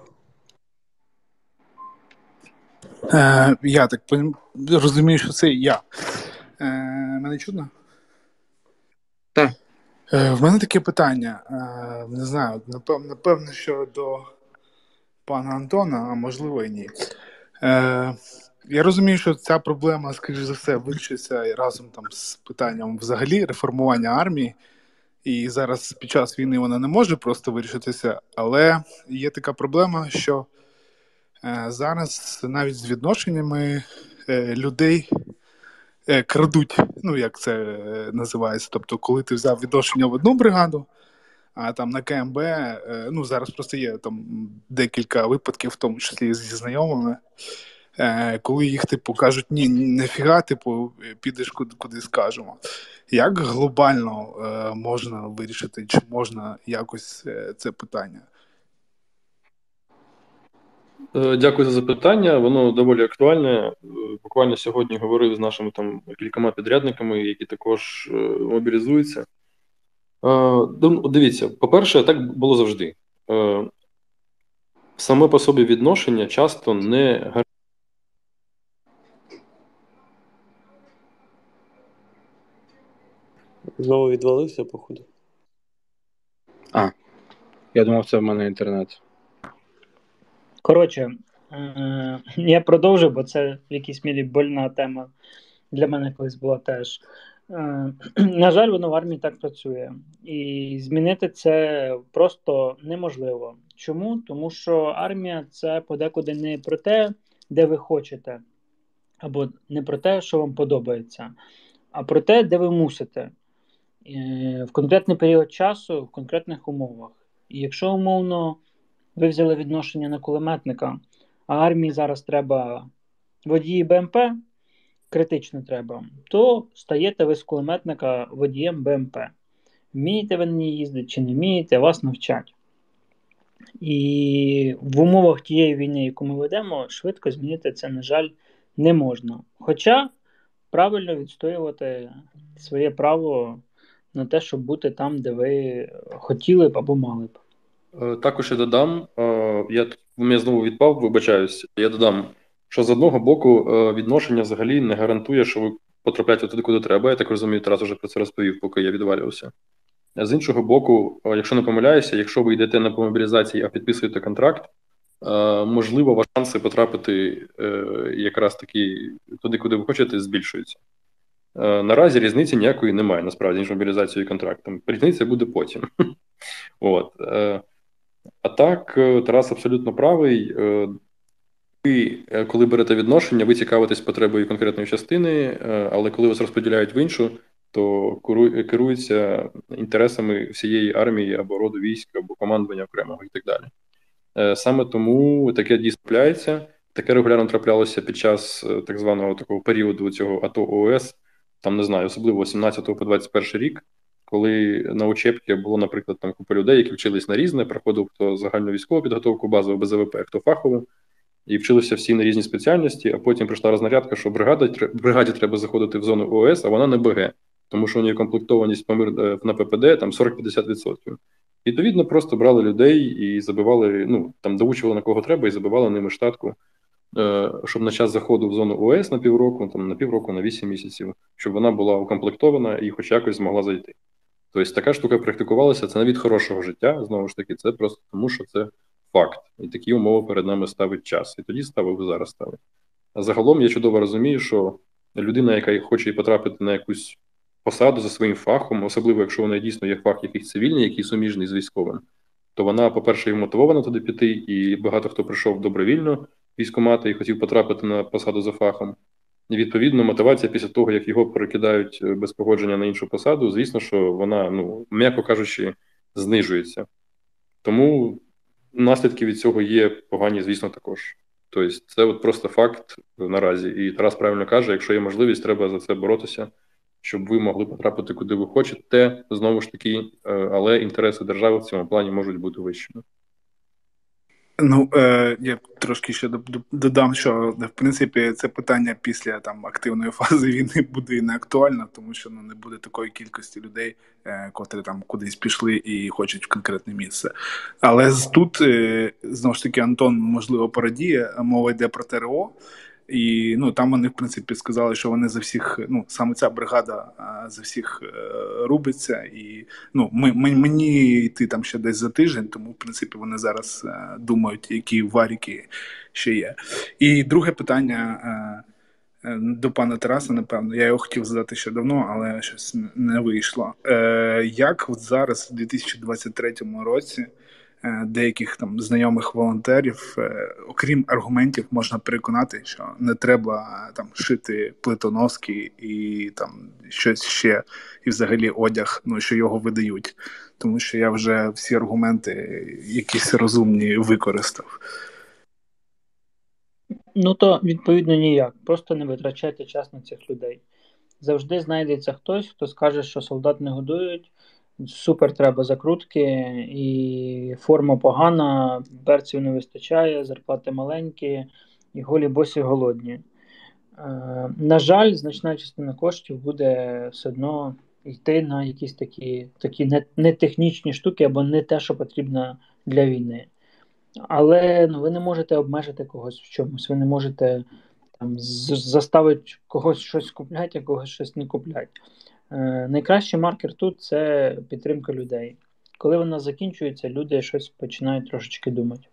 Е, я так пон- розумію, що це я. Е, мене чутно? Так. Е, в мене таке питання. Е, не знаю, напевно, напевно, що до пана Антона, а можливо і ні. Е, я розумію, що ця проблема, скоріш за все, вирішиться разом там з питанням взагалі реформування армії. І зараз під час війни вона не може просто вирішитися, але є така проблема, що е, зараз навіть з відношеннями е, людей е, крадуть, ну як це е, називається. Тобто, коли ти взяв відношення в одну бригаду, а там на КМБ, е, ну зараз просто є там декілька випадків, в тому числі зі знайомими, е, коли їх типу кажуть, ні, нефіга, типу, підеш куди, куди скажемо. Як глобально е, можна вирішити, чи можна якось е, це питання? Е, Дякую за запитання. Воно доволі актуальне. Е, Буквально сьогодні говорив з нашими там кількома підрядниками, які також е, мобілізуються. Е, див- Дивіться, по-перше, так було завжди. Е, Саме по собі відношення часто не гарантує. Знову відвалився, походу. Я думав, це в мене інтернет. Коротше, е, я продовжу, бо це в якійсь мірі больна тема для мене колись була теж. Е, На жаль, воно в армії так працює. І змінити це просто неможливо. Чому? Тому що армія це подекуди не про те, де ви хочете, або не про те, що вам подобається, а про те, де ви мусите. Е, В конкретний період часу, в конкретних умовах. І якщо умовно ви взяли відношення на кулеметника, а армії зараз треба водії БМП, критично треба, то стаєте ви з кулеметника водієм БМП. Вмієте ви на ній їздити чи не вмієте, вас навчать. І в умовах тієї війни, яку ми ведемо, швидко змінити це, на жаль, не можна. Хоча правильно відстоювати своє право на те, щоб бути там, де ви хотіли б або мали б. Е, Також я додам, е, я тут- у мене знову відпав, вибачаюсь. Я додам, що з одного боку е, відношення взагалі не гарантує, що ви потрапляєте туди, куди треба. Я так розумію, Тарас вже про це розповів, поки я відвалювався. А з іншого боку, е, якщо не помиляюся, якщо ви йдете на по мобілізації, а підписуєте контракт, е, можливо, ваші шанси потрапити е, якраз таки туди, куди ви хочете, збільшуються. Е, Наразі різниці ніякої немає, насправді, між мобілізацією і контрактом. Різниця буде потім. От. е, А так, е, Тарас абсолютно правий. Е, Ви, е, коли берете відношення, ви цікавитесь потребою конкретної частини, е, але коли вас розподіляють в іншу, то керу- керуються інтересами всієї армії або роду військ, або командування окремого і так далі. Е, Саме тому таке дійсно трапляється. таке регулярно траплялося під час е, так званого такого періоду цього АТО ООС, там, не знаю, особливо сімнадцятого по двадцять перший рік, коли на учебці було, наприклад, там купа людей, які вчились на різне, проходив хто загальну військову підготовку, базову Б З В П, хто фахову, і вчилися всі на різні спеціальності, а потім прийшла рознарядка, що бригада, бригаді треба заходити в зону ООС, а вона не Б Г, тому що у неї комплектованість на П П Д там сорок-п'ятдесят відсотків. Відповідно, просто брали людей і забивали, ну, там доучували на кого треба і забивали ними штатку, щоб на час заходу в зону ООС на півроку, там на півроку, на вісім місяців, щоб вона була укомплектована і хоч якось змогла зайти. Тобто така штука практикувалася, це не від хорошого життя, знову ж таки, це просто тому, що це факт. І такі умови перед нами ставить час. І тоді ставив, і зараз ставить. А загалом я чудово розумію, що людина, яка хоче потрапити на якусь посаду за своїм фахом, особливо якщо вона дійсно є фах якийсь цивільний, який суміжний з військовим, то вона, по-перше, і мотивована туди піти, і багато хто прийшов добровільно військкомати і хотів потрапити на посаду за фахом. І, відповідно, мотивація після того, як його перекидають без погодження на іншу посаду, звісно, що вона, ну, м'яко кажучи, знижується. Тому наслідки від цього є погані, звісно, також. Тобто це от просто факт наразі. І Тарас правильно каже, якщо є можливість, треба за це боротися, щоб ви могли потрапити куди ви хочете, знову ж таки, але інтереси держави в цьому плані можуть бути вищими. Ну, е, я трошки ще додам, що, в принципі, це питання після там активної фази війни буде і не актуально, тому що ну, не буде такої кількості людей, е, котрі там кудись пішли і хочуть в конкретне місце. Але тут, е, знову ж таки, Антон, можливо, порадіє, мова йде про Т Р О, і ну, там вони, в принципі, сказали, що вони за всіх, ну, саме ця бригада за всіх е, рубиться. І ну, ми, ми, мені йти там ще десь за тиждень, тому, в принципі, вони зараз е, думають, які варіки ще є. І друге питання е, до пана Тараса, напевно. Я його хотів задати ще давно, але щось не вийшло. Е, як от зараз, у дві тисячі двадцять третьому році, деяких там знайомих волонтерів, окрім аргументів, можна переконати, що не треба там шити плитоноски і там щось ще, і взагалі одяг, ну, що його видають. Тому що я вже всі аргументи якісь розумні використав. Ну, то, відповідно, ніяк. Просто не витрачайте час на цих людей. Завжди знайдеться хтось, хто скаже, що солдат не годують, супер треба закрутки, і форма погана, берців не вистачає, зарплати маленькі, і голі босі голодні. Е, на жаль, значна частина коштів буде все одно йти на якісь такі, такі не, не технічні штуки, або не те, що потрібно для війни. Але ну, ви не можете обмежити когось в чомусь, ви не можете там, заставити когось щось купляти, а когось щось не купляти. Е, найкращий маркер тут – це підтримка людей. Коли вона закінчується, люди щось починають трошечки думати.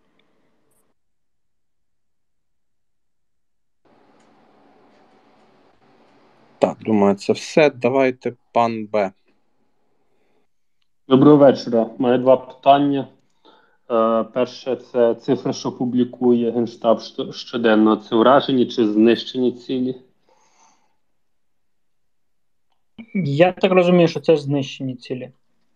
Так, думаю, це все. Давайте пан Б. Доброго вечора. Маю два питання. Е, перше, це цифра, що публікує Генштаб щоденно. Це вражені чи знищені цілі? Я так розумію, що це знищені цілі.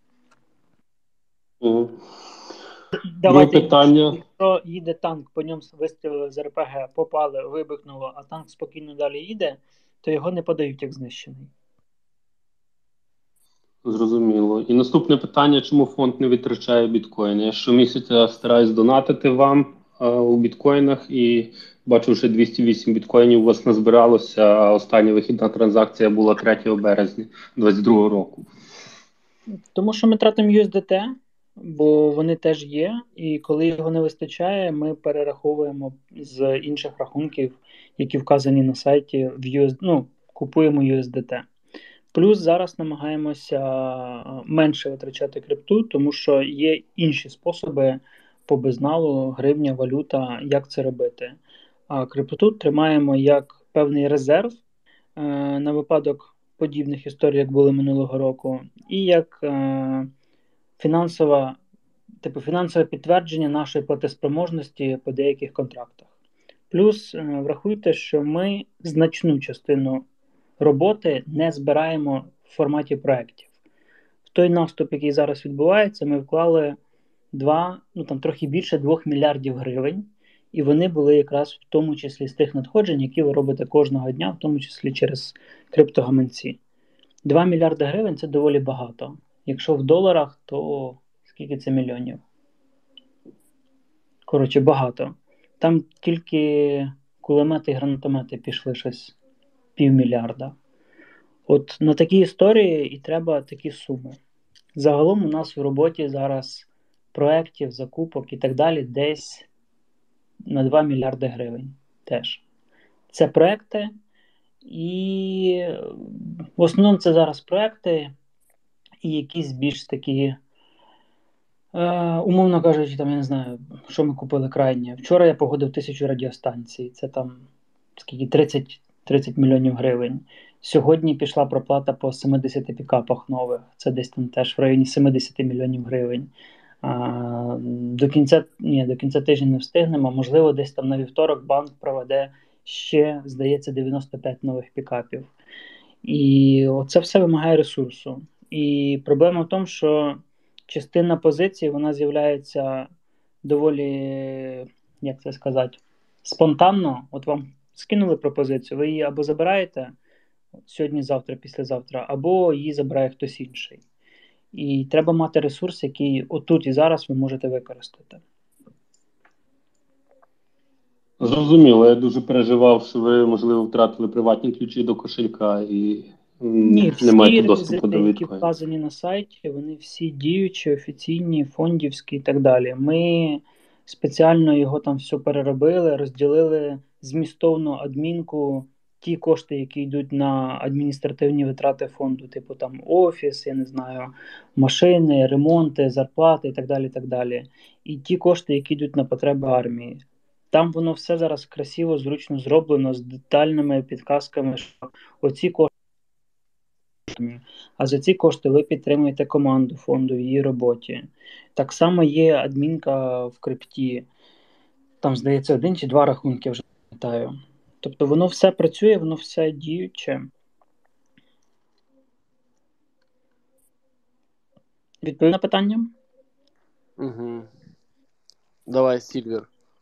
Угу. Давайте, Друге питання. Якщо їде танк, по ньому вистрілили з Р П Г, попали, вибухнуло, а танк спокійно далі їде, то його не подають як знищений. Зрозуміло. І наступне питання, чому фонд не витрачає біткоїни? Я щомісяця стараюсь донатити вам а, у біткоїнах і бачу, вже двісті вісім біткоїнів у вас назбиралося, а остання вихідна транзакція була третього березня двадцять другого року. Тому що ми тратимо ю ес ді те, бо вони теж є, і коли його не вистачає, ми перераховуємо з інших рахунків, які вказані на сайті, в ю ес, ну, купуємо ю ес ді те. Плюс зараз намагаємося менше витрачати крипту, тому що є інші способи по безналу, гривня, валюта, як це робити. А крипту тримаємо як певний резерв е, на випадок подібних історій, як були минулого року, і як е, фінансова, типу, фінансове підтвердження нашої платоспроможності по деяких контрактах. Плюс е, врахуйте, що ми значну частину роботи не збираємо в форматі проєктів. В той наступ, який зараз відбувається, ми вклали два, ну там трохи більше двох мільярдів гривень, І вони були якраз в тому числі з тих надходжень, які ви робите кожного дня, в тому числі через криптогаманці. два мільярди гривень – це доволі багато. Якщо в доларах, то скільки це мільйонів? Коротше, багато. Там тільки кулемети і гранатомети пішли щось півмільярда. От на такі історії і треба такі суми. Загалом у нас в роботі зараз проєктів, закупок і так далі десь на два мільярди гривень теж. Це проекти, і в основному це зараз проекти і якісь більш такі, е, умовно кажучи, там, я не знаю, що ми купили крайнє. Вчора я погодив тисячу радіостанцій, це там скільки, тридцять, тридцять мільйонів гривень. Сьогодні пішла проплата по сімдесят пікапах нових, це десь там теж в районі сімдесят мільйонів гривень. А, до кінця, ні, до кінця тижня не встигнемо, можливо, десь там на вівторок банк проведе ще, здається, дев'яносто п'ять нових пікапів. І це все вимагає ресурсу. І проблема в тому, що частина позицій, вона з'являється доволі, як це сказати, спонтанно. От вам скинули пропозицію, ви її або забираєте сьогодні, завтра, післязавтра, або її забирає хтось інший. І треба мати ресурс, який отут і зараз ви можете використати. Зрозуміло, я дуже переживав, що ви, можливо, втратили приватні ключі до кошелька і Ні, не маєте всі доступу до реквізити, які біткоїну. вказані на сайті, вони всі діючі, офіційні, фондівські і так далі. Ми спеціально його там все переробили, розділили змістовну адмінку, ті кошти, які йдуть на адміністративні витрати фонду, типу там офіс, я не знаю, машини, ремонти, зарплати і так далі, і так далі. І ті кошти, які йдуть на потреби армії. Там воно все зараз красиво, зручно зроблено, з детальними підказками, що оці кошти, а за ці кошти ви підтримуєте команду фонду в її роботі. Так само є адмінка в крипті, там, здається, один чи два рахунки, вже не пам'ятаю. Тобто воно все працює, воно все діюче. Відповів на питання? Угу. Давай, Сільвер.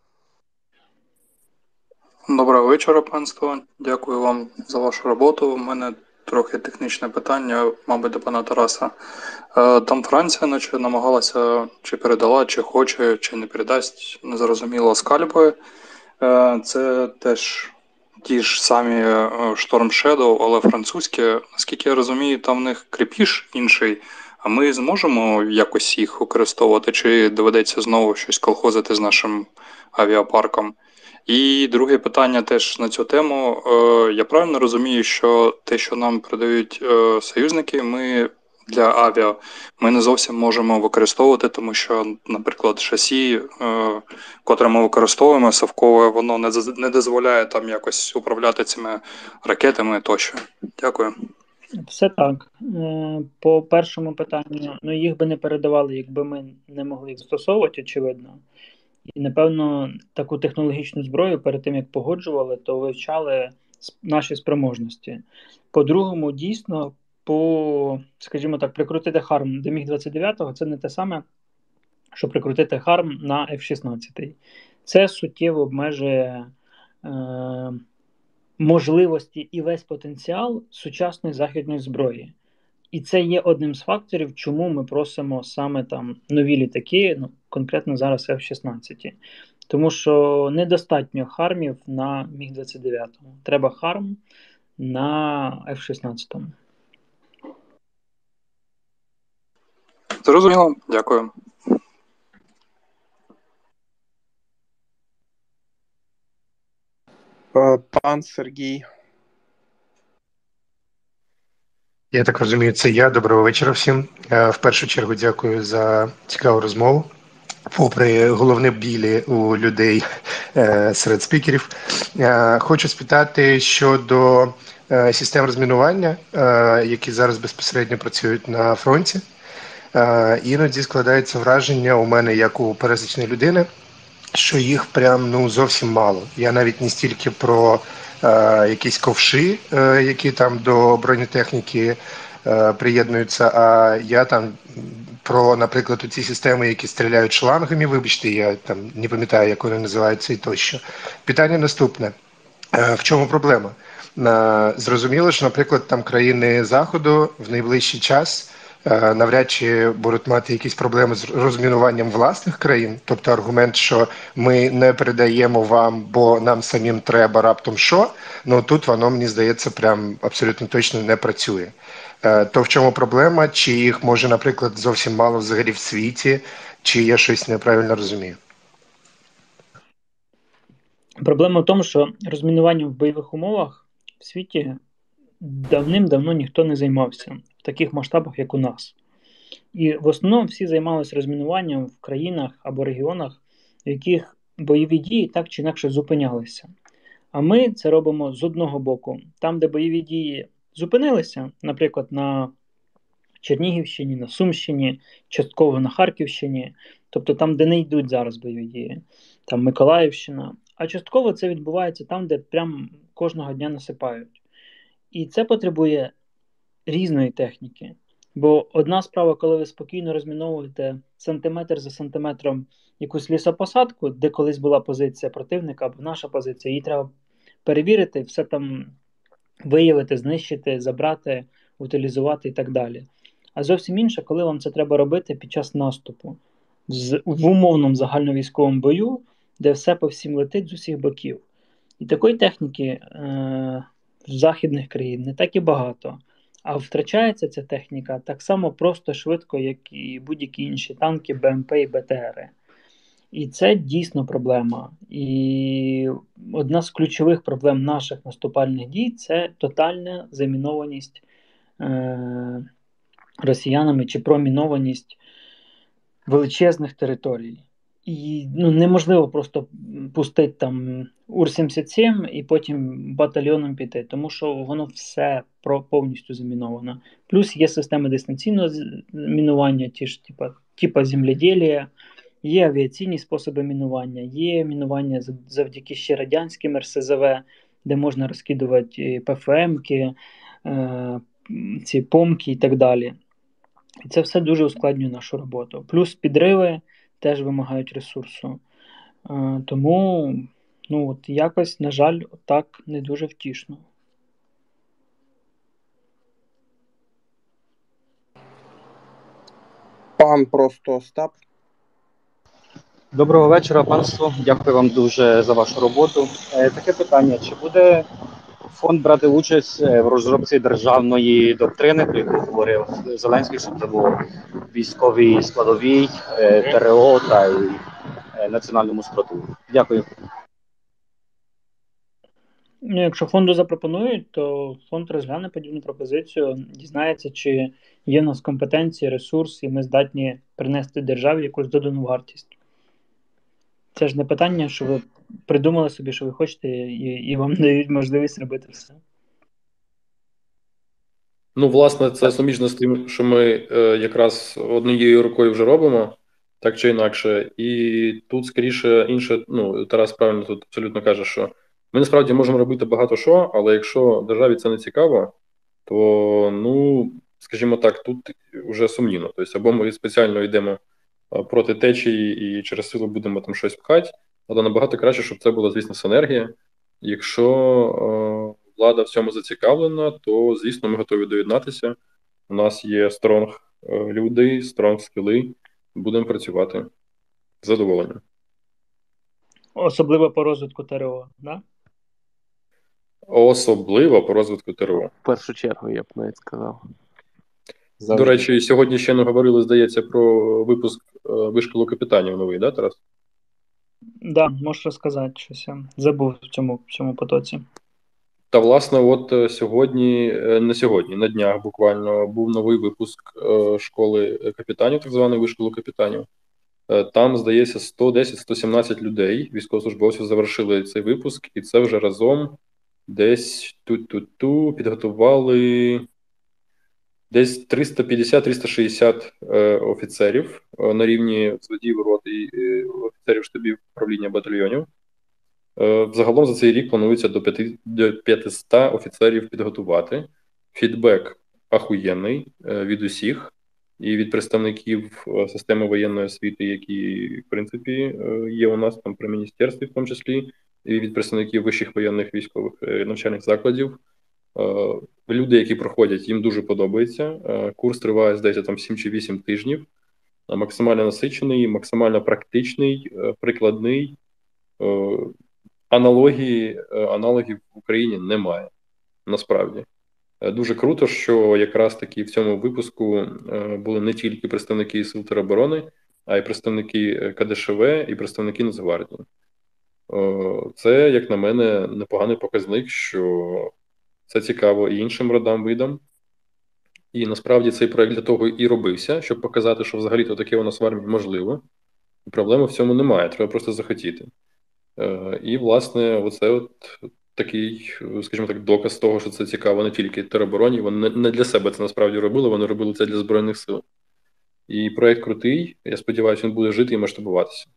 Доброго вечора, панство. Дякую вам за вашу роботу. У мене трохи технічне питання, мабуть, до пана Тараса. Там Франція наче намагалася, чи передала, чи хоче, чи не передасть, незрозуміло, скальпи. Це теж ті ж самі Storm Shadow, але французькі. Наскільки я розумію, там в них кріпіш інший, а ми зможемо якось їх використовувати, чи доведеться знову щось колхозити з нашим авіапарком? І друге питання теж на цю тему. Я правильно розумію, що те, що нам продають союзники, ми для авіа, ми не зовсім можемо використовувати, тому що, наприклад, шасі, котре ми використовуємо, совкове, воно не дозволяє там якось управляти цими ракетами тощо. Дякую. Все так. По першому питанню, ну їх би не передавали, якби ми не могли їх застосовувати, очевидно. І, напевно, таку технологічну зброю перед тим, як погоджували, то вивчали наші спроможності. По-другому, дійсно, по, скажімо так, прикрутити харм до міг двадцять дев'ять – це не те саме, що прикрутити харм на еф шістнадцять. Це суттєво обмежує е, можливості і весь потенціал сучасної західної зброї. І це є одним з факторів, чому ми просимо саме там нові літаки, ну, конкретно зараз еф шістнадцять. Тому що недостатньо хармів на міг двадцять дев'ять. Треба харм на еф шістнадцять. Зрозуміло, дякую. Пан Сергій. Я так розумію, це я. Доброго вечора всім. В першу чергу дякую за цікаву розмову. Попри головні білі у людей серед спікерів, хочу спитати щодо систем розмінування, які зараз безпосередньо працюють на фронті. Іноді складається враження у мене, як у пересічної людини, що їх прям ну зовсім мало. Я навіть не стільки про е, якісь ковши, е, які там до бронетехніки е, приєднуються, а я там про, наприклад, ці системи, які стріляють шлангами, вибачте, я там не пам'ятаю, як вони називаються і тощо. Питання наступне. В чому проблема? Зрозуміло, що, наприклад, там країни Заходу в найближчий час навряд чи будуть мати якісь проблеми з розмінуванням власних країн. Тобто аргумент, що ми не передаємо вам, бо нам самим треба раптом що, ну тут воно, мені здається, прям абсолютно точно не працює. То в чому проблема? Чи їх може, наприклад, зовсім мало взагалі в світі, чи я щось неправильно розумію? Проблема в тому, що розмінуванням в бойових умовах в світі давним-давно ніхто не займався в таких масштабах, як у нас. І в основному всі займалися розмінуванням в країнах або регіонах, в яких бойові дії так чи інакше зупинялися. А ми це робимо з одного боку. Там, де бойові дії зупинилися, наприклад, на Чернігівщині, на Сумщині, частково на Харківщині, тобто там, де не йдуть зараз бойові дії, там Миколаївщина, а частково це відбувається там, де прям кожного дня насипають. І це потребує різної техніки. Бо одна справа, коли ви спокійно розміновуєте сантиметр за сантиметром якусь лісопосадку, де колись була позиція противника або наша позиція, її треба перевірити, все там виявити, знищити, забрати, утилізувати і так далі. А зовсім інше, коли вам це треба робити під час наступу. З, в умовному загальновійськовому бою, де все по всім летить з усіх боків. І такої техніки е- в західних країн не так і багато. А втрачається ця техніка так само просто швидко, як і будь-які інші танки, БМП і БТРи. І це дійсно проблема. І одна з ключових проблем наших наступальних дій – це тотальна замінованість е- росіянами чи промінованість величезних територій. І ну, неможливо просто пустити там Ур сімдесят сім і потім батальйоном піти, тому що воно все про, повністю заміновано. Плюс є системи дистанційного мінування, ті ж типа, типа земледілія, є авіаційні способи мінування, є мінування завдяки ще радянським РСЗВ, де можна розкидувати ПФМки, е, ці помки і так далі. І це все дуже ускладнює нашу роботу. Плюс підриви теж вимагають ресурсу. Е, тому, ну от якось, на жаль, так не дуже втішно. Пан просто Остап. Доброго вечора, панство. Дякую вам дуже за вашу роботу. Е, таке питання: чи буде фонд брати участь в розробці державної доктрини, про яку говорив Зеленський, щоб це було військовій складовій, ТРО та й національному спротиву? Дякую. Ну, якщо фонду запропонують, то фонд розгляне подібну пропозицію, дізнається, чи є в нас компетенції, ресурс, і ми здатні принести державі якусь додану вартість. Це ж не питання, що ви придумали собі, що ви хочете, і, і вам дають можливість робити все. Ну, власне, це суміжно з тим, що ми е, якраз однією рукою вже робимо, так чи інакше. І тут, скоріше, інше, ну, Тарас правильно тут абсолютно каже, що ми насправді можемо робити багато що, але якщо державі це не цікаво, то, ну, скажімо так, тут вже сумнівно. Тобто, або ми спеціально йдемо проти течії і через силу будемо там щось пхати, але набагато краще, щоб це була, звісно, синергія. Якщо е, влада в цьому зацікавлена, то, звісно, ми готові доєднатися. У нас є стронг е, люди, стронг скіли, будемо працювати з задоволенням. Особливо по розвитку ТРО, да? Особливо по розвитку ТРО. В першу чергу, я б навіть сказав. Завжди. До речі, сьогодні ще не говорили, здається, про випуск е, вишколу капітанів новий, да, Тарас? Да, можеш розказати щось. Я забув в цьому, в цьому потоці. Та, власне, от сьогодні, не сьогодні, на днях буквально був новий випуск е, школи капітанів, так званої вишколу капітанів. Е, там, здається, сто десять - сто сімнадцять людей, військовослужбовців, завершили цей випуск, і це вже разом десь ту-ту-ту підготували десь триста п'ятдесят - триста шістдесят е, офіцерів е, на рівні взводів, рот і е, офіцерів штабів управління батальйонів. Е, загалом за цей рік планується до, п'яти, до п'ятисот офіцерів підготувати. Фідбек ахуєнний е, від усіх. і від представників е, системи воєнної освіти, які, в принципі, е, є у нас там при міністерстві, в тому числі, і від представників вищих воєнних військових е, навчальних закладів. Е, Люди, які проходять, їм дуже подобається. Е, Курс триває, здається, там сім чи вісім тижнів. Е, Максимально насичений, максимально практичний, е, прикладний. Е, Аналогії, е, аналогів в Україні немає, насправді. Е, Дуже круто, що якраз таки в цьому випуску е, були не тільки представники Сил тероборони, а й представники е, Ка Де Ше Ве і представники Нацгвардії. Е, Це, як на мене, непоганий показник, що це цікаво і іншим родам, видам. І насправді цей проект для того і робився, щоб показати, що взагалі-то таке у нас в армії можливо. І проблеми в цьому немає, треба просто захотіти. Е, І, власне, оце от такий, скажімо так, доказ того, що це цікаво не тільки теробороні, вони не для себе це насправді робили, вони робили це для Збройних сил. І проект крутий, я сподіваюся, він буде жити і масштабуватися.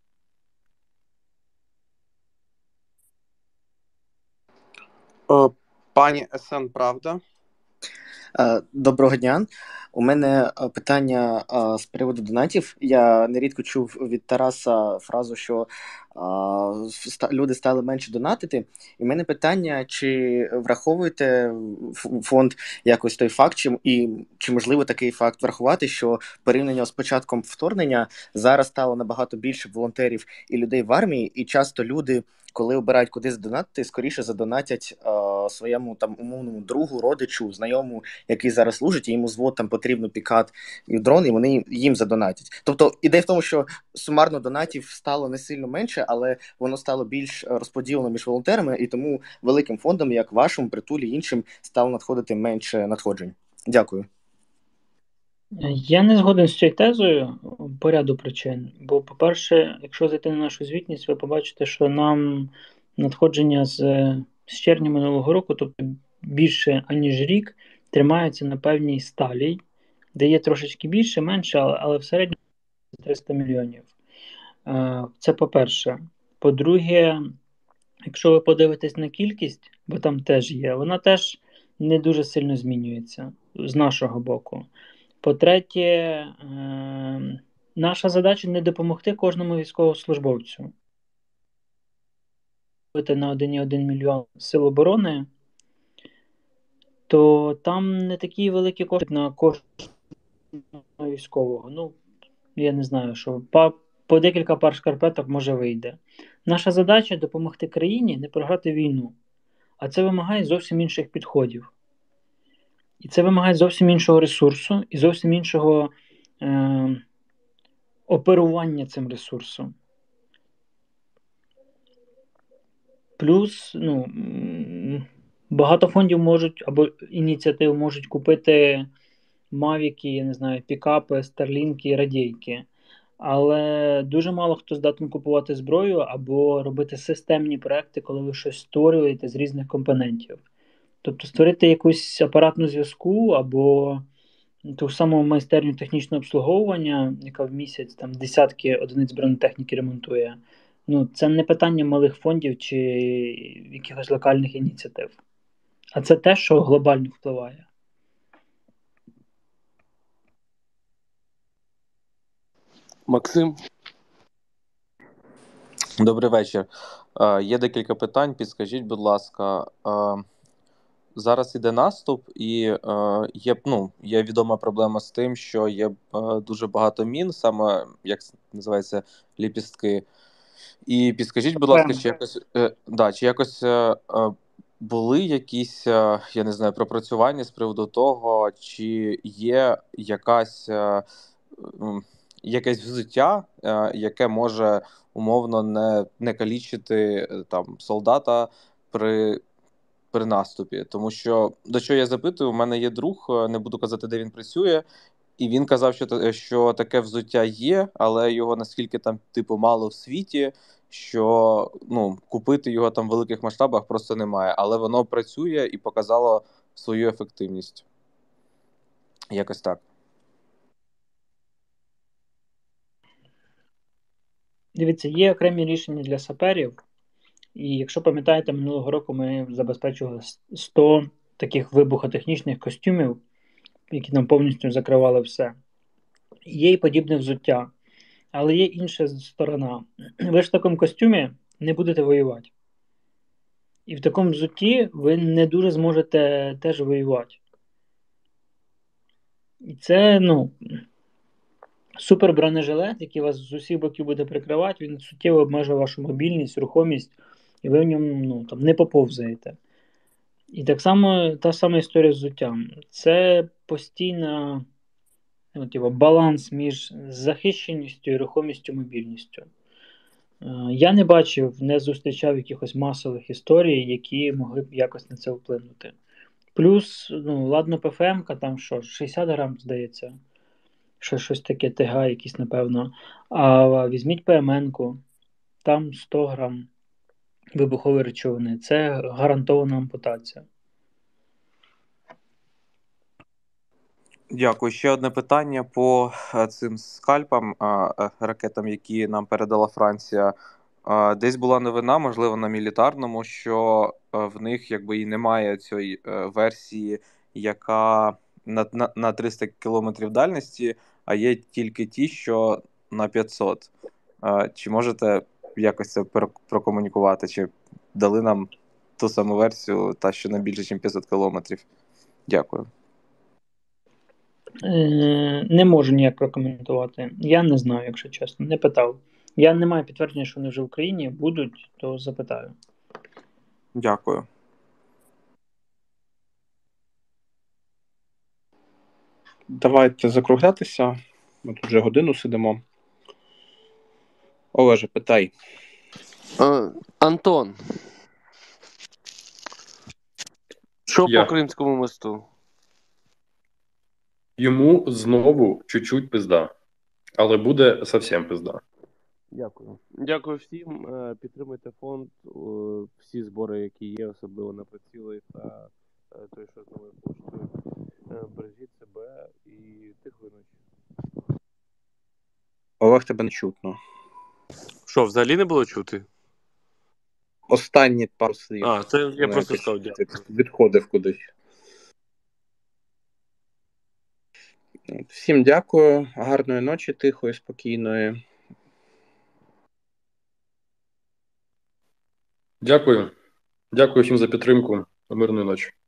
Е, Пані ес ен, правда? Е, Доброго дня. У мене е, питання е, з приводу донатів. Я нерідко чув від Тараса фразу, що е, ста- люди стали менше донатити. І в мене питання, чи враховуєте ф- фонд якось той факт, чи, і чи можливо такий факт врахувати, що порівняно з початком вторгнення зараз стало набагато більше волонтерів і людей в армії, і часто люди, коли обирають куди задонатити, скоріше задонатять е, своєму там умовному другу, родичу, знайомому, який зараз служить, і йому звод там потрібно пікат і дрон, і вони їм задонатять. Тобто ідея в тому, що сумарно донатів стало не сильно менше, але воно стало більш е, розподілено між волонтерами, і тому великим фондам, як вашому, притулі, іншим, стало надходити менше надходжень. Дякую. Я не згоден з цією тезою по ряду причин. Бо, по-перше, якщо зайти на нашу звітність, ви побачите, що нам надходження з, з червня минулого року, тобто більше аніж рік, тримаються на певній сталі, де є трошечки більше, менше, але, але в середньому триста мільйонів. Е, Це по-перше. По-друге, якщо ви подивитесь на кількість, бо там теж є, вона теж не дуже сильно змінюється з нашого боку. По-третє, е, наша задача не допомогти кожному військовослужбовцю. На один цілих один мільйон сил оборони, то там не такі великі кошти на кожного військового. Ну, я не знаю, що по, по декілька пар шкарпеток може вийде. Наша задача допомогти країні не програти війну. А це вимагає зовсім інших підходів. І це вимагає зовсім іншого ресурсу і зовсім іншого е, оперування цим ресурсом. Плюс, ну, м, багато фондів можуть, або ініціатив можуть купити мавіки, я не знаю, пікапи, старлінки, радійки. Але дуже мало хто здатен купувати зброю або робити системні проекти, коли ви щось створюєте з різних компонентів. Тобто створити якусь апаратну зв'язку або ту саму майстерню технічного обслуговування, яка в місяць там десятки одиниць бронетехніки ремонтує. Ну, це не питання малих фондів чи якихось локальних ініціатив. А це те, що глобально впливає. Максим. Добрий вечір. Е, Є декілька питань. Підскажіть, будь ласка, е, зараз іде наступ, і е, є, ну, є відома проблема з тим, що є е, дуже багато мін, саме, як це називається, ліпістки. І підскажіть, будь ласка, чи якось, е, да, чи якось е, е, були якісь, е, я не знаю, пропрацювання з приводу того, чи є якась, е, м, якесь взуття, е, яке може умовно не, не калічити е, там солдата при, при наступі. Тому що, до чого я запитую, у мене є друг, е, не буду казати, де він працює, і він казав, що, та- що таке взуття є, але його наскільки там, типу, мало в світі, що ну, купити його там в великих масштабах просто немає. Але воно працює і показало свою ефективність. Якось так. Дивіться, є окремі рішення для саперів. І якщо пам'ятаєте, минулого року ми забезпечували сто таких вибухотехнічних костюмів, які нам повністю закривали все. є і подібне взуття. Але є інша сторона. Ви ж в такому костюмі не будете воювати. І в такому взутті ви не дуже зможете теж воювати. І це, ну, супербронежилет, який вас з усіх боків буде прикривати, він суттєво обмежує вашу мобільність, рухомість, і ви в ньому, ну, там, не поповзаєте. І так само та сама історія з взуттям. Це постійна, ну, типу, баланс між захищеністю і рухомістю, мобільністю. Е, Я не бачив, не зустрічав якихось масових історій, які могли б якось на це вплинути. Плюс, ну, ладно, ПФМ-ка, там що, шістдесят грам, здається, що щось таке, ТГ якісь, напевно. А візьміть ПМН-ку, там сто грам вибухової речовини. Це гарантована ампутація. Дякую. Ще одне питання по е, цим скальпам, а, е, ракетам, які нам передала Франція. А, Десь була новина, можливо, на мілітарному, що е, в них якби і немає цієї е, версії, яка на, на, на триста кілометрів дальності, а є тільки ті, що на п'ятсот. А, Чи можете якось це пер- прокомунікувати? Чи дали нам ту саму версію, та що на більше, ніж п'ятсот кілометрів? Дякую. Е, Не можу ніяк прокоментувати. Я не знаю, якщо чесно, не питав. Я не маю підтвердження, що вони вже в Україні будуть, то запитаю. Дякую. Давайте закруглятися. Ми тут вже годину сидимо. Олеже, питай. Е, Антон. Що Я. по Кримському мосту? Йому знову чуть-чуть пизда, але буде зовсім пизда. Дякую. Дякую всім. Е, Підтримуйте фонд. Е, Всі збори, які є, особливо на приціли та е, той, що з новою поштою. Е, Бережіть себе і тихої ночі. Олег, тебе не чутно. Що, взагалі не було чути? Останні пару слів. А, це я Ну, просто якось сказав дякую. відходив кудись. От, всім дякую. Гарної ночі, тихої, спокійної. Дякую. Дякую всім за підтримку. Мирної ночі.